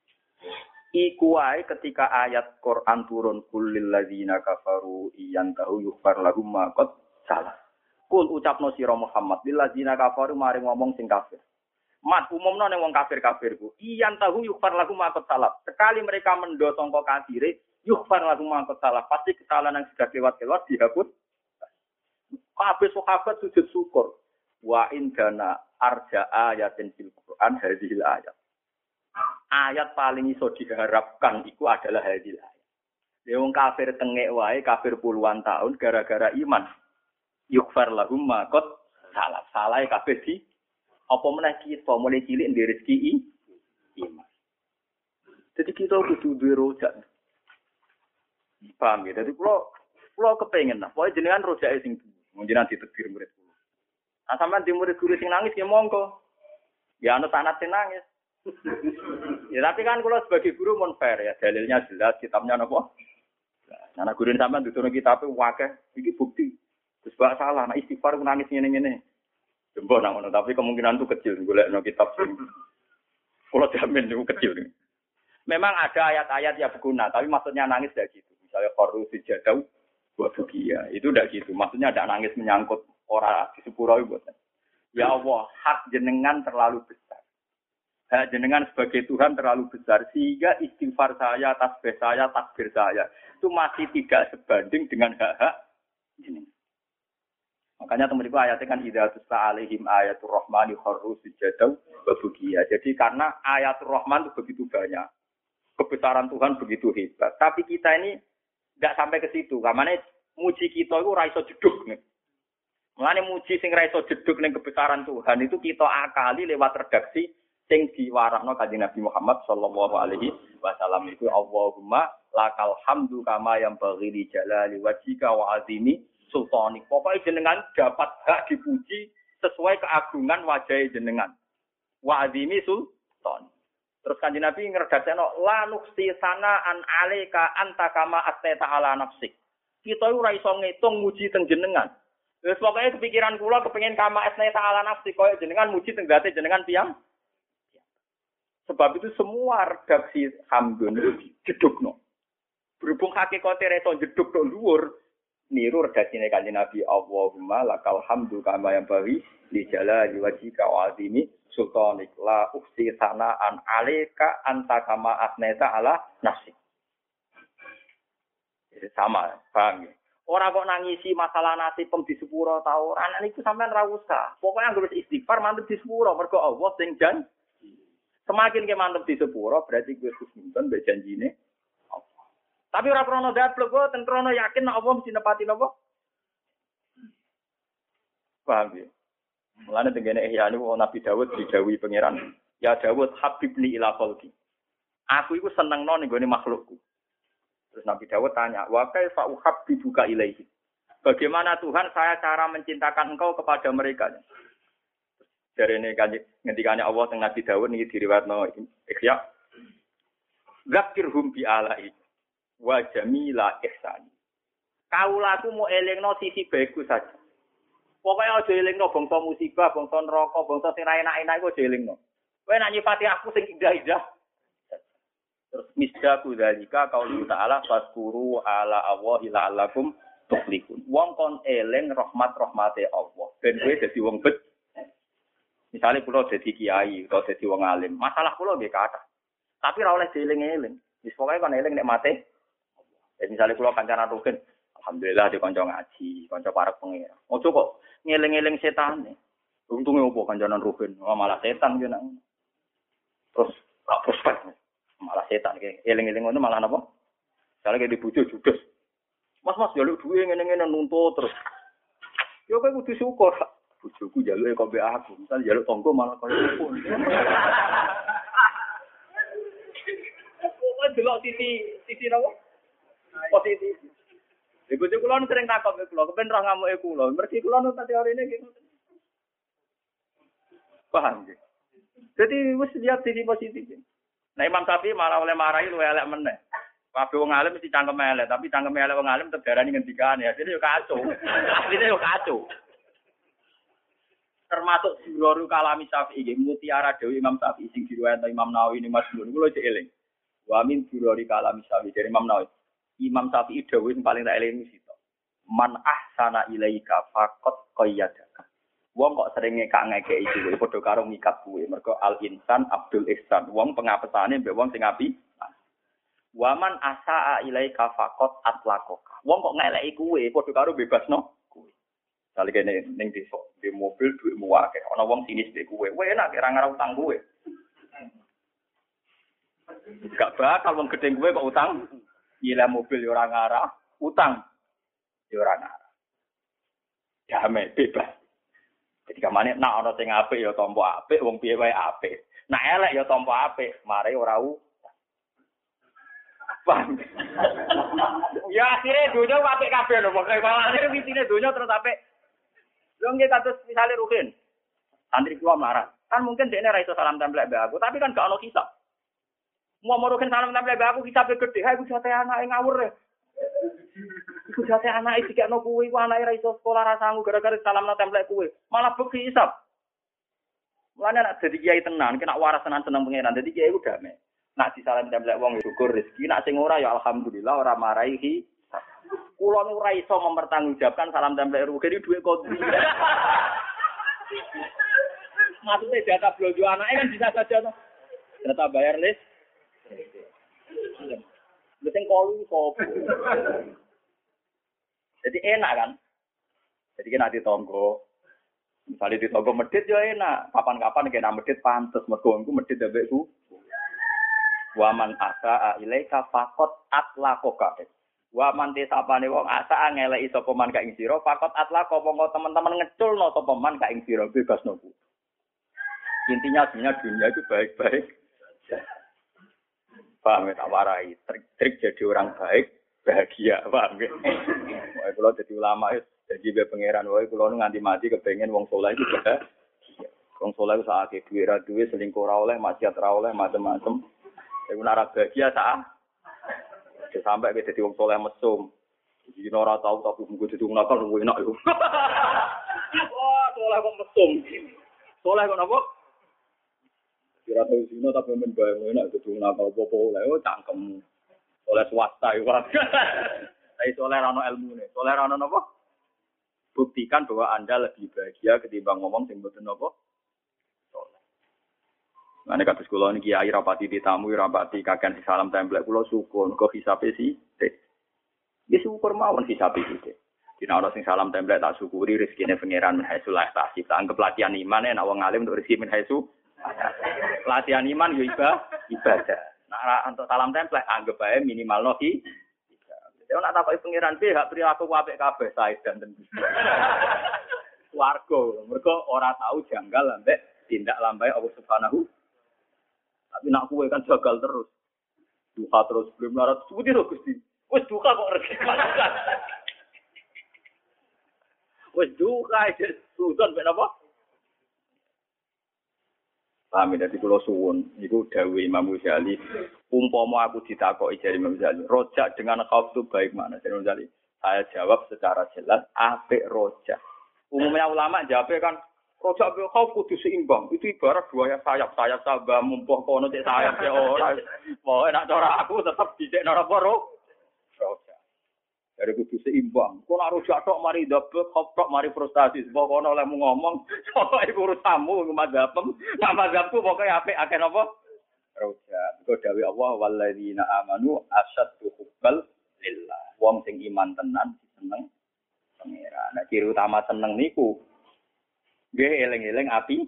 Speaker 1: Iku wae ketika ayat Quran turun kulil ladzina kafaru iyantahu yughfar lahum ma qad salah. Kul ucapno sira Muhammad lil ladzina kafaru mari ngomong sing kafir. Mat umumno ning wong kafir-kafir ku iyantahu yughfar lahum ma qad salah. Sekali mereka mendo sangka kafire yughfar lahum ma qad salah. Pasti kesalahan yang sudah lewat-lewat dihapus. Kabeh sahabat sujud syukur. Wa indana arja ayatin fil Quran hadhil ayat. Ayat paling iso diharapkan iku adalah hadhil ayat. Ya wong kafir tengek wae, kafir puluhan tahun gara-gara iman. Yughfar lahum ma qad salah. Salah kabeh di apa meneh kita mulai cilik ndek rezeki iman. Jadi kita kudu duwe rojak. Paham ya? Jadi kula kula kepengin lah, pokoke jenengan rojake sing jenengan ditegur murid kula. Nah sampean di murid guru sing nangis ya monggo. Ya ana sanad sing nangis. Ya tapi kan kula sebagai guru mon fair ya, dalilnya jelas, kitabnya napa? Nah, guru sampean dudono kitabe wakeh, iki bukti. Terus bak salah, nah istighfar nangis ngene-ngene. Jembo nang ngono, tapi kemungkinan itu kecil golekno kitab sing kula jamin itu kecil. Memang ada ayat-ayat yang berguna, tapi maksudnya nangis tidak gitu. Misalnya qaru sijadau wa bukia, itu tidak gitu. Maksudnya ada nangis menyangkut ora di sepuro iku. Ya Allah, hak jenengan terlalu besar. Hak jenengan sebagai Tuhan terlalu besar sehingga istighfar saya, tasbih saya, takbir saya itu masih tidak sebanding dengan hak-hak jenengan. Makanya teman-teman ayatnya kan hidayatus alaihim ayatul rahmani kharru sujadaw wa bukia. Jadi karena ayatul rahman itu begitu banyak. Kebesaran Tuhan begitu hebat. Tapi kita ini enggak sampai ke situ. Karena muji kita itu ra iso jedug nih. Mulane muji sing ra iso jedug ning kebesaran Tuhan itu kita akali lewat redaksi sing diwarahno Kanjeng Nabi Muhammad sallallahu alaihi wasallam itu Allahumma lakal hamdu kama yang baghi li jalali wajhika wa azimi sultanik. Pokoknya jenengan dapat hak dipuji sesuai keagungan wajah jenengan. Wa azimi sultan. Terus Kanjeng Nabi ngredakno la nuksi sana an alika anta kama astata ala nafsik. Kita ora iso ngitung muji teng jenengan. Wis pokoke kepikiran kula kepengin kama astata ala nafsik koyo jenengan muji teng gate jenengan tiyang. Sebab itu semua redaksi hamdun itu jedukno. Berhubung hakikate reso jeduk tok dhuwur, niru redaksine Kanjeng Nabi Allahumma lakal hamdu kama yang bari li jalali wajhika wa azimi sultanik la uksi sana an alika anta kama asneta ala nafsi. Jadi sama, paham ya? Orang kok nangisi masalah nasib pem di sepuro ta ora, anak niku sampean ra usah. Pokoke anggere istighfar mantep di sepuro mergo Allah sing jan. Semakin ke mantep di sepuro berarti gue khusnudon mbek janjine. Tapi ora krono dablek kok ten krono yakin nek Allah mesti nepati napa? Paham ya? Mulane tengene ihya niku Nabi Daud didhawuhi pangeran, "Ya Daud habibni ila khalqi." Aku iku senengno ning gone makhlukku. Terus Nabi Daud tanya, "Wa kaifa uhabbibuka ilaihi?" Bagaimana Tuhan saya cara mencintakan engkau kepada mereka. Dari ini kan ngendikane Allah teng Nabi Dawud niki diriwayatno Ikhya. Zakirhum bi alai wa jamila ihsani. Kaulaku mau elingno sisi baikku saja. Pokoknya aja elingno bangsa musibah, bangsa neraka, bangsa sing ra enak-enak iku aja elingno. Kowe nak nyifati aku sing indah-indah. Terus misdaku dalika qaulu ta'ala faskuru ala Allahi la'allakum tuflihun. Wong kon eling rahmat-rahmate Allah. Ben kowe dadi wong bet. Misale kula dadi kiai utawa dadi wong alim, masalah kula nggih kathah. Tapi ora oleh dieling-eling. Wis pokoke kon eling nek mate. Ya misale kula kancanan rugen, alhamdulillah di kanca ngaji, kanca parek pengira. Ojo kok ngeling-eling setane. Untunge opo kancanan rugen, oh, malah setan yo nak. Terus gak prospek. Malah setan iki. Eling-eling ngono malah napa? Jare ki dibujo judes. Mas-mas njaluk duwe ngene-ngene nuntut terus. Yo kowe kudu syukur. Bojoku njaluke kok mbek aku. Misal njaluk tonggo malah koyo opo. Kok delok sisi sisi napa? Positif. Iku cek kula sering takok ke kula, kepen roh ngamuke kula. Mergi kula nu teorine nggih ngoten. Paham nggih? Jadi wis lihat sisi positif. Nah Imam Syafi'i malah oleh marahi luwe elek meneh. Kabeh wong alim mesti cangkem elek, tapi cangkem elek wong alim terdarani ngendikan ya. Jadi yo kacau. Asline yo kacau. Termasuk Jurorul Kalami Syafi'i nggih mutiara Dewi Imam Syafi'i sing diriwayatno Imam Nawawi ini Mas Nur. Kula cek eling. Wa min Jurorul Kalami Syafi'i dari Imam Nawawi. Imam Syafi'i dawuh sing paling tak eling sito. Man ahsana ilaika faqad qayyadaka. Wong kok sering ngekak ngekeki kuwi padha karo ngikat kuwi. Mergo al insan Abdul Ihsan. Wong pengapesane mbek wong sing apik. Waman asaa ilaika faqad atlaqaka. Wong kok ngeleki kuwi padha karo bebasno kuwi. Sale kene ning desa, di mobil dhuwitmu akeh. Ana wong sinis mbek kuwi. Kowe enak ora ngarep utang kuwi. Gak bakal wong gedhe kuwi kok utang. Gila mobil yo ora ngarah, utang yo ora ngarah. Damai bebas. Jadi kamane nak ana sing apik ya tampa apik, wong piye wae apik. Nak elek ya tampa apik, mare ora u. Paham. Ya akhire dunya apik kabeh lho, pokoke akhire witine dunya terus apik. Lho nggih kados misale Ruhin. Santri kula marah. Kan mungkin dekne ra iso salam templek mbek aku, tapi kan gak ono kisah. Mau Ruhin salam templek mbek aku kisabe gede, ha iku jate anake ngawur. Iku jate anake dikekno kuwi, ku anake ra iso sekolah ra sanggup gara-gara salamna templek kuwi. Malah beki hisab. Mulane nek dadi kiai tenan, kena waras tenan seneng pangeran. Dadi kiai ku damai. Nak disalam templek wong syukur rezeki, nak sing ora ya alhamdulillah ora marahi. Kula nu ora iso mempertanggungjawabkan salam templek Ruhin iki dhuwit kondi. Maksudnya data blojo anake kan bisa saja to. Data bayar list. Mesti kolu sop. Jadi enak kan? Jadi kena di tonggo. Misalnya di tonggo medit ya enak. Kapan-kapan kena medit pantes. Mergo iku medit mbekku. Waman asa ilaika faqat atlaqaka. Waman tisapane wong asa ngeleki sapa man ka ing sira faqat atlaqa monggo teman-teman ngeculno sapa man ka ing sira bebasno ku. Intinya sebenarnya dunia itu baik-baik. Paham ya, tak warai. Trik-trik jadi orang baik, bahagia. Paham ya? Wah, kalau jadi ulama, jadi be pangeran. Wah, kalau nganti mati kepengen wong soleh itu juga. Wong soleh itu saat itu duit duit selingkuh oleh, maksiat oleh, macam-macam. Tapi nara bahagia saat. Sampai ke jadi wong soleh mesum. Jadi nora tahu tapi mungkin jadi wong nakal lebih enak itu. Wah, soleh kok mesum. Soleh kok apa? Kira tahu sini tapi men bayang enak gedung nakal popo oleh oh cangkem oleh swasta itu. Tapi soleh rano ilmu nih, soleh rano apa? Buktikan bahwa anda lebih bahagia ketimbang ngomong sing boten apa? Soleh. Mana kata sekolah ini kiai rapati ditamu rapati kakan salam template pulau syukur kok hisape sih? Dia syukur mawon hisape sih. Dina ana sing salam template tak syukuri rezekine pangeran min haitsu la yahtasib. Anggap latihan iman nek wong alim untuk rezeki min haitsu latihan iman yo ibadah. Nah, untuk salam template anggap ae minimal noki. Jadi nak takoki pangeran piye hak perilaku apik kabeh sae dan tentu. Warga, mergo ora tahu janggal ambek tindak lambai Allah Subhanahu. Tapi nak kuwe kan jagal terus. Duka terus belum larat suwi lho Gusti. Wis duka kok rezeki. Wis duka iki susun ben apa? Paham ya, dadi kula suwun niku dawuh Imam Ghazali, umpama aku ditakoki jare Imam Ghazali, rojak dengan khauf itu baik mana? Imam Ghazali, saya jawab secara jelas apik rojak. Umumnya ulama jawabnya kan rojak bil khauf kudu seimbang. Itu ibarat dua sayap, sayap sabah mumpuh kono cek sayap ya ora. Mau enak cara aku tetap dhisik nara poro. Rojak. Dari kudu seimbang. Kok nek rojak tok mari double khauf tok mari frustasi. Pokoke oleh mu ngomong, pokoke iku urusanmu mazhabem. Nek mazhabku pokoke apik akeh napa? Rojak. Iku dawuh Allah walladzina amanu asyaddu hubbal lillah. Wong sing iman tenan seneng pangeran. Nah, ciri utama seneng niku nggih eling-eling api.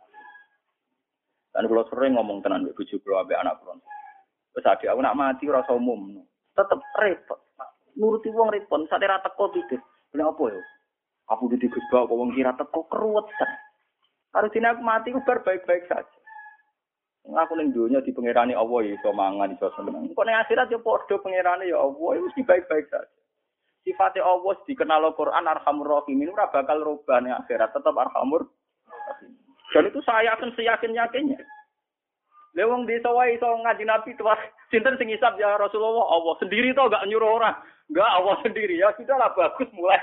Speaker 1: Dan kula sering ngomong tenan mbek bojo kula ambek anak kula. Wis ade aku nak mati ora usah umum. Tetep repot. Nuruti wong repot, sak ora teko pikir. Lha apa ya? Aku di Gusba kok wong kira teko keruwetan. Harusnya aku mati ku bar baik-baik saja. Aku ning donya di pangerane Allah ya iso mangan iso seneng. Kok ning akhirat ya padha pangerane ya Allah ya mesti baik-baik saja. Sifatnya Allah dikenal Al-Quran Arhamur Rahimin ora bakal rubah ning akhirat tetap Arhamur Rahim. Dan itu saya yakin seyakin-yakinnya. Lha wong desa wae iso ngaji Nabi tuwa sinten sing ngisab ya Rasulullah Allah sendiri to enggak nyuruh orang. Enggak Allah sendiri ya sudahlah bagus mulai.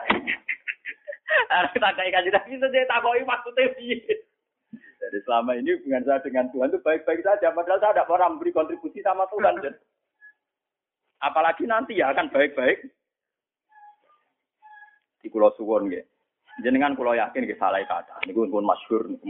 Speaker 1: Ada kita kayak kaji Nabi itu dia takoki maksudnya piye. Jadi selama ini hubungan saya dengan Tuhan itu baik-baik saja padahal saya tidak pernah memberi kontribusi sama Tuhan. Dan apalagi nanti ya akan baik-baik. Di kula suwun nggih. Jenengan kula yakin nggih salah kata. Niku pun masyhur niku.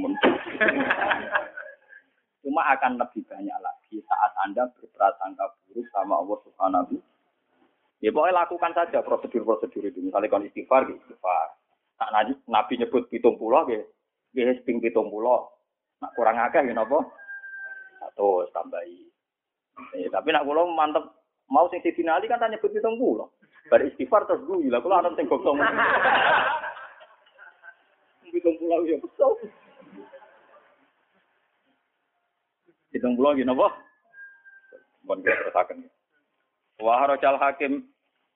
Speaker 1: Cuma akan lebih banyak lagi saat Anda berprasangka buruk sama Allah Subhanahu. Ya pokoknya lakukan saja prosedur-prosedur itu. Misalnya kalau istighfar, istighfar. Nah, Nabi nyebut pitung pulau, ya, ya seping pitung pulau. Nah, kurang agak, ya, apa? Satu, tambahi. Eh, tapi nak pulau mantep. Mau sing Sidina Ali kan tanya nyebut pitung pulau. Bar istighfar terus gue, lah kalau ada yang gosong. Pitung pulau, ya, betul. Pitung pulau, ya, apa? Bukan kita terusakan. Wa harajal hakim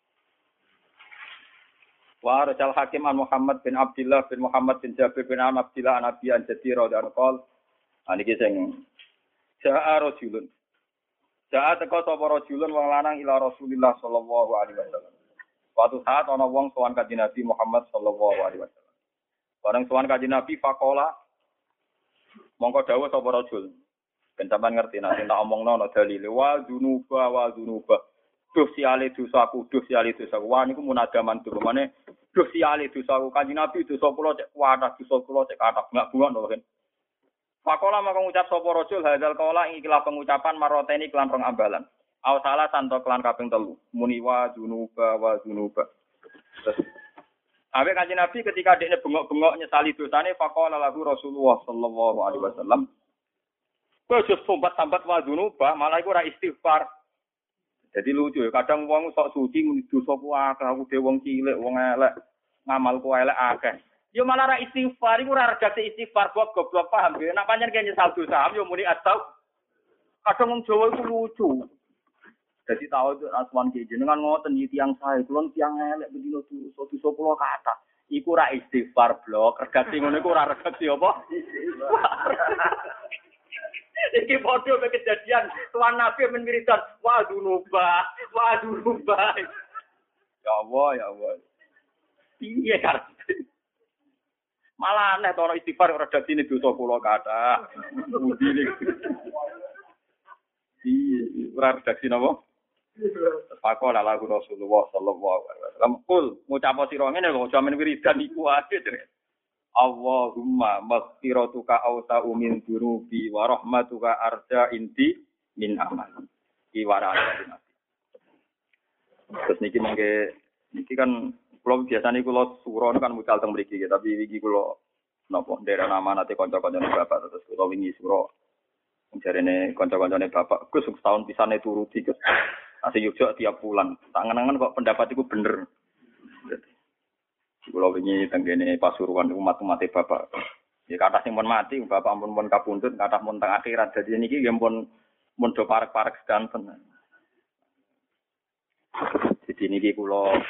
Speaker 1: Wa harajal hakim an Muhammad bin Abdullah bin Muhammad bin Jabir bin An Abdullah an Abi an Jadira dan qol aniki sing ja'a rajulun ja'a teko sapa rajulun wong lanang ila Rasulillah sallallahu alaihi wasallam. Suatu saat ana wong sowan kanjeng Nabi Muhammad sallallahu alaihi wasallam. Bareng sowan kanjeng Nabi faqala mongko dawuh sapa rajul ben sampean ngerti nek tak omongno ana dalil wa dzunuba wa dzunuba duh siale dosaku, duh siale dosaku. Wah niku munadaman tuh. Mane duh siale dosaku. Kanjeng Nabi dosa kula cek kuwatah, dosa kula cek kathah. Enggak bunga lho kan. Pakola maka ngucap sapa rajul hadzal qaula ing ikilah pengucapan maroteni kelan rong ambalan. Aw salah santo kelan kaping telu. Muni wa dzunuba wa dzunuba. Terus awe Kanjeng Nabi ketika dekne bengok-bengok nyesali dosane faqala lahu Rasulullah sallallahu alaihi wasallam. Kowe aja sombat-sambat wa dzunuba, malah iku ora istighfar. Jadi lucu ya, kadang wong sok suci muni dosa ku akeh, aku dhewe wong cilik, wong elek, ngamalku elek akeh. Yo malah ra istighfar, iku ora redaksi istighfar kok goblok paham ya. Nek pancen kene nyesal dosa, yo muni astau. Kadang wong Jawa iku lucu. Jadi tahu itu asman ki jenengan ngoten iki tiyang sae, kula tiyang elek bendino dosa, dosa kula kathah. Iku ra istighfar blok, redaksi ngono iku ora redaksi apa? Iki foto ke kejadian tuan Nabi menwiridan waduh nuba waduh nuba ya Allah ya Allah piye kan malah aneh to istighfar redaksine dosa kula kathah budine iki ora redaksi napa Pakola lagu Rasulullah sallallahu alaihi wasallam kul ngucap sira ngene lho aja men wiridan iku wae Allahumma maghfiratuka awsa'u min dunubi wa rahmatuka arja inti min amal. Iki warane Nabi. Terus niki mengke niki kan kula biasane kula suron kan mucal teng mriki tapi iki kula napa ndera nama nate kanca-kancane bapak terus kula wingi suro jarene kanca-kancane bapak Gus setahun pisane turuti Gus. Asih Yogyakarta tiap bulan. Tak ngenangan kok pendapat iku bener. Kalau ini tenggene Pasuruan umat-umat bapak, ya kata sing pun mati, bapak pun pun kabundut, kata pun teng akhirat. Jadi ini ki pun pun do parek-parek sedanten. Jadi ini ki kulo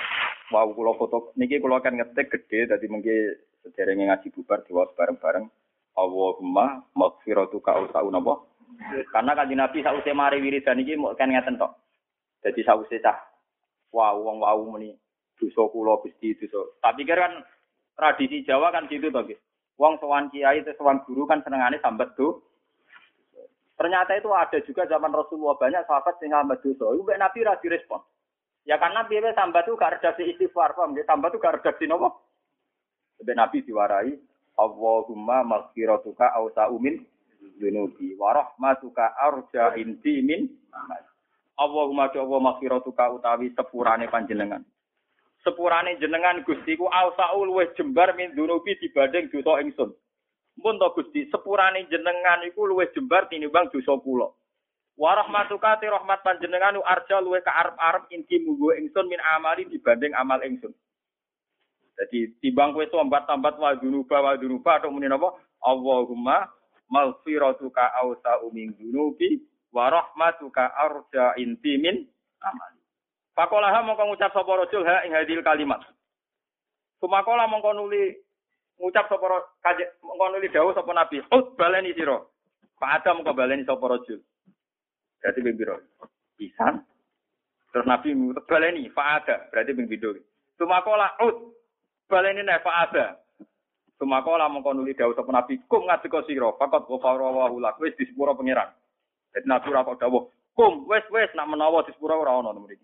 Speaker 1: Wow, kula foto niki kula kan ngetik gede dadi mengki sederenge ngaji bubar diwaos bareng-bareng. Allahumma maghfiratuka ausau napa? Karena kanjeng Nabi sause mari wiridan iki mok kan ngeten tok. Dadi sause cah wow wong wau muni dosa kula Gusti dosa. Tak pikir kan tradisi Jawa kan gitu to, Guys. Wong sowan kiai terus sowan guru kan senengane sambat do. Ternyata itu ada juga zaman Rasulullah banyak sahabat sing sambat dosa. Iku mek Nabi ra direspon. Ya karena biasa sambat itu gak redaksi istighfar, paham nggih? Sambat itu gak redaksi napa? Sampai Nabi diwarai, Allahumma maghfiratuka awsa'u min dzunubi wa rahmatuka arja indi min Allahumma Allah maghfiratuka utawi sepurane panjenengan. Sepurane jenengan Gusti ku awsa'u luwih jembar min dzunubi dibanding dosa ingsun. Mun to Gusti, sepurane jenengan iku luwih jembar tinimbang dosa kula. Wa rahmatuka ti rahmat panjenengan arja luwe ka arep-arep inti munggo ingsun min amali dibanding amal ingsun. Jadi timbang kowe tombat-tombat wa dunuba wa dunuba atau muni napa? Allahumma maghfiratuka awsa'u min dunubi wa rahmatuka arja inti min amali. Pakolaha mongko ngucap sapa rajul ha ing hadil kalimat. Sumakola mongko nuli ngucap sapa kaje mongko nuli dawuh sapa nabi, "Ut baleni sira." Pak Adam mongko baleni sapa rajul. Berarti ping pira? Pisan. Terus Nabi ngutek baleni faada, berarti ping pindho. Sumakola ut baleni nek faada. Sumakola mongko nuli dawuh sapa Nabi, kum ngadeka sira, faqat ghafara wa lak wis disepuro pangeran. Dadi Nabi ora kok dawuh, kum wis wis nak menawa disepuro ora ono mriki.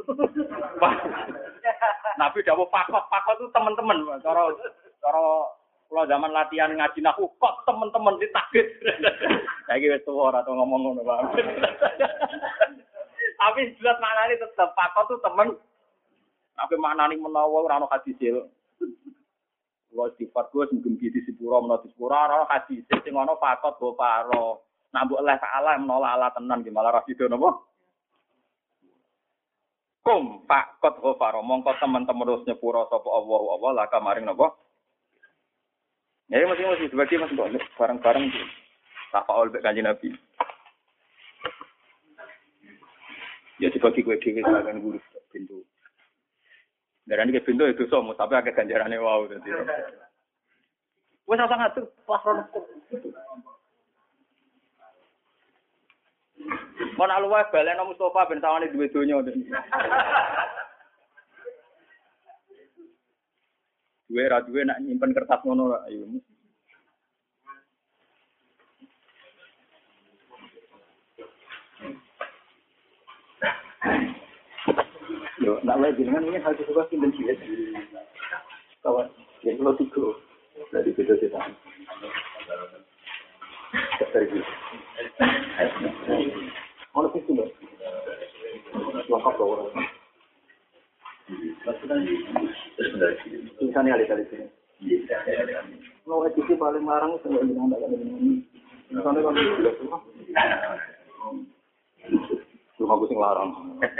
Speaker 1: Nabi dawuh fakot, fakot itu teman-teman, cara cara kalau zaman latihan ngaji nahu, kok teman-teman ditakdir. Saiki wis tuwa ora tau ngomong ngono, Pak. Tapi jelas maknane tetep pakot tuh temen. Tapi maknane menawa ora ono hadis il. Kulo sifat kuwi sing gempi di sepuro menawa di sepuro ora hadis sing ono pakot go paro. Nak mbok Allah taala menolak ala tenan ki malah ra sido napa? Kum pakot go paro mongko teman-teman terus nyepuro sapa Allah Allah laka maring napa? Ya mesti-mesti dibagi mas kok bareng-bareng iki. Tafaul mek Kanjeng Nabi. Ya dibagi kowe dhewe sampeyan guru pintu. Darane ke pintu itu somo tapi akeh ganjarane wau dadi. Wes ora ngatur pas rono. Mon alwa baleno Mustofa ben sawane duwe donya. Duwe ra duwe nak nyimpen kertas ngono ayo. Yo, nak lagi dengan ini harus juga pindah sih. Kawan, yang lo tiga dari video kita. Terus. Mana sih tuh? Lengkap loh. Misalnya kali-kali sini. Mau edisi paling larang itu nggak bilang ada ini. Misalnya kalau sudah semua. Cuma aku sing larang.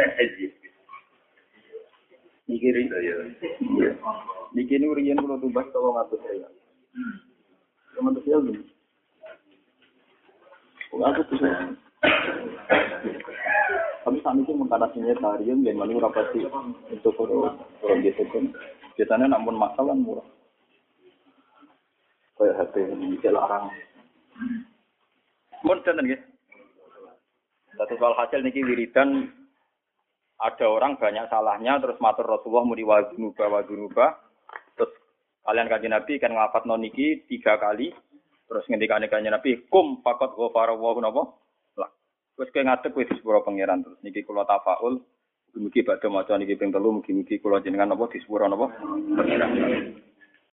Speaker 1: Mikirin ya. Bikin urian kalau tubas kalau ngatur saya. Cuma tuh saya gini. Aku tuh Kami saat itu mengkanasinya tarian dan malu rapati untuk orang orang gitu kan. Biasanya namun masalah murah. Kayak H P ini larang. Mun tenan nggih. Satu soal hasil niki wiridan ada orang banyak salahnya terus matur Rasulullah muni wa dzunuba wa dzunuba. Terus kalian kanjeng Nabi kan nglafatno niki tiga kali. Terus ngendikane kanjeng Nabi kum faqat ghafara wa napa? Wes kowe ngadeg kowe disepuro pangeran terus niki kula tafaul mugi badhe maca niki ping telu mugi-mugi kula jenengan napa disepuro napa pangeran.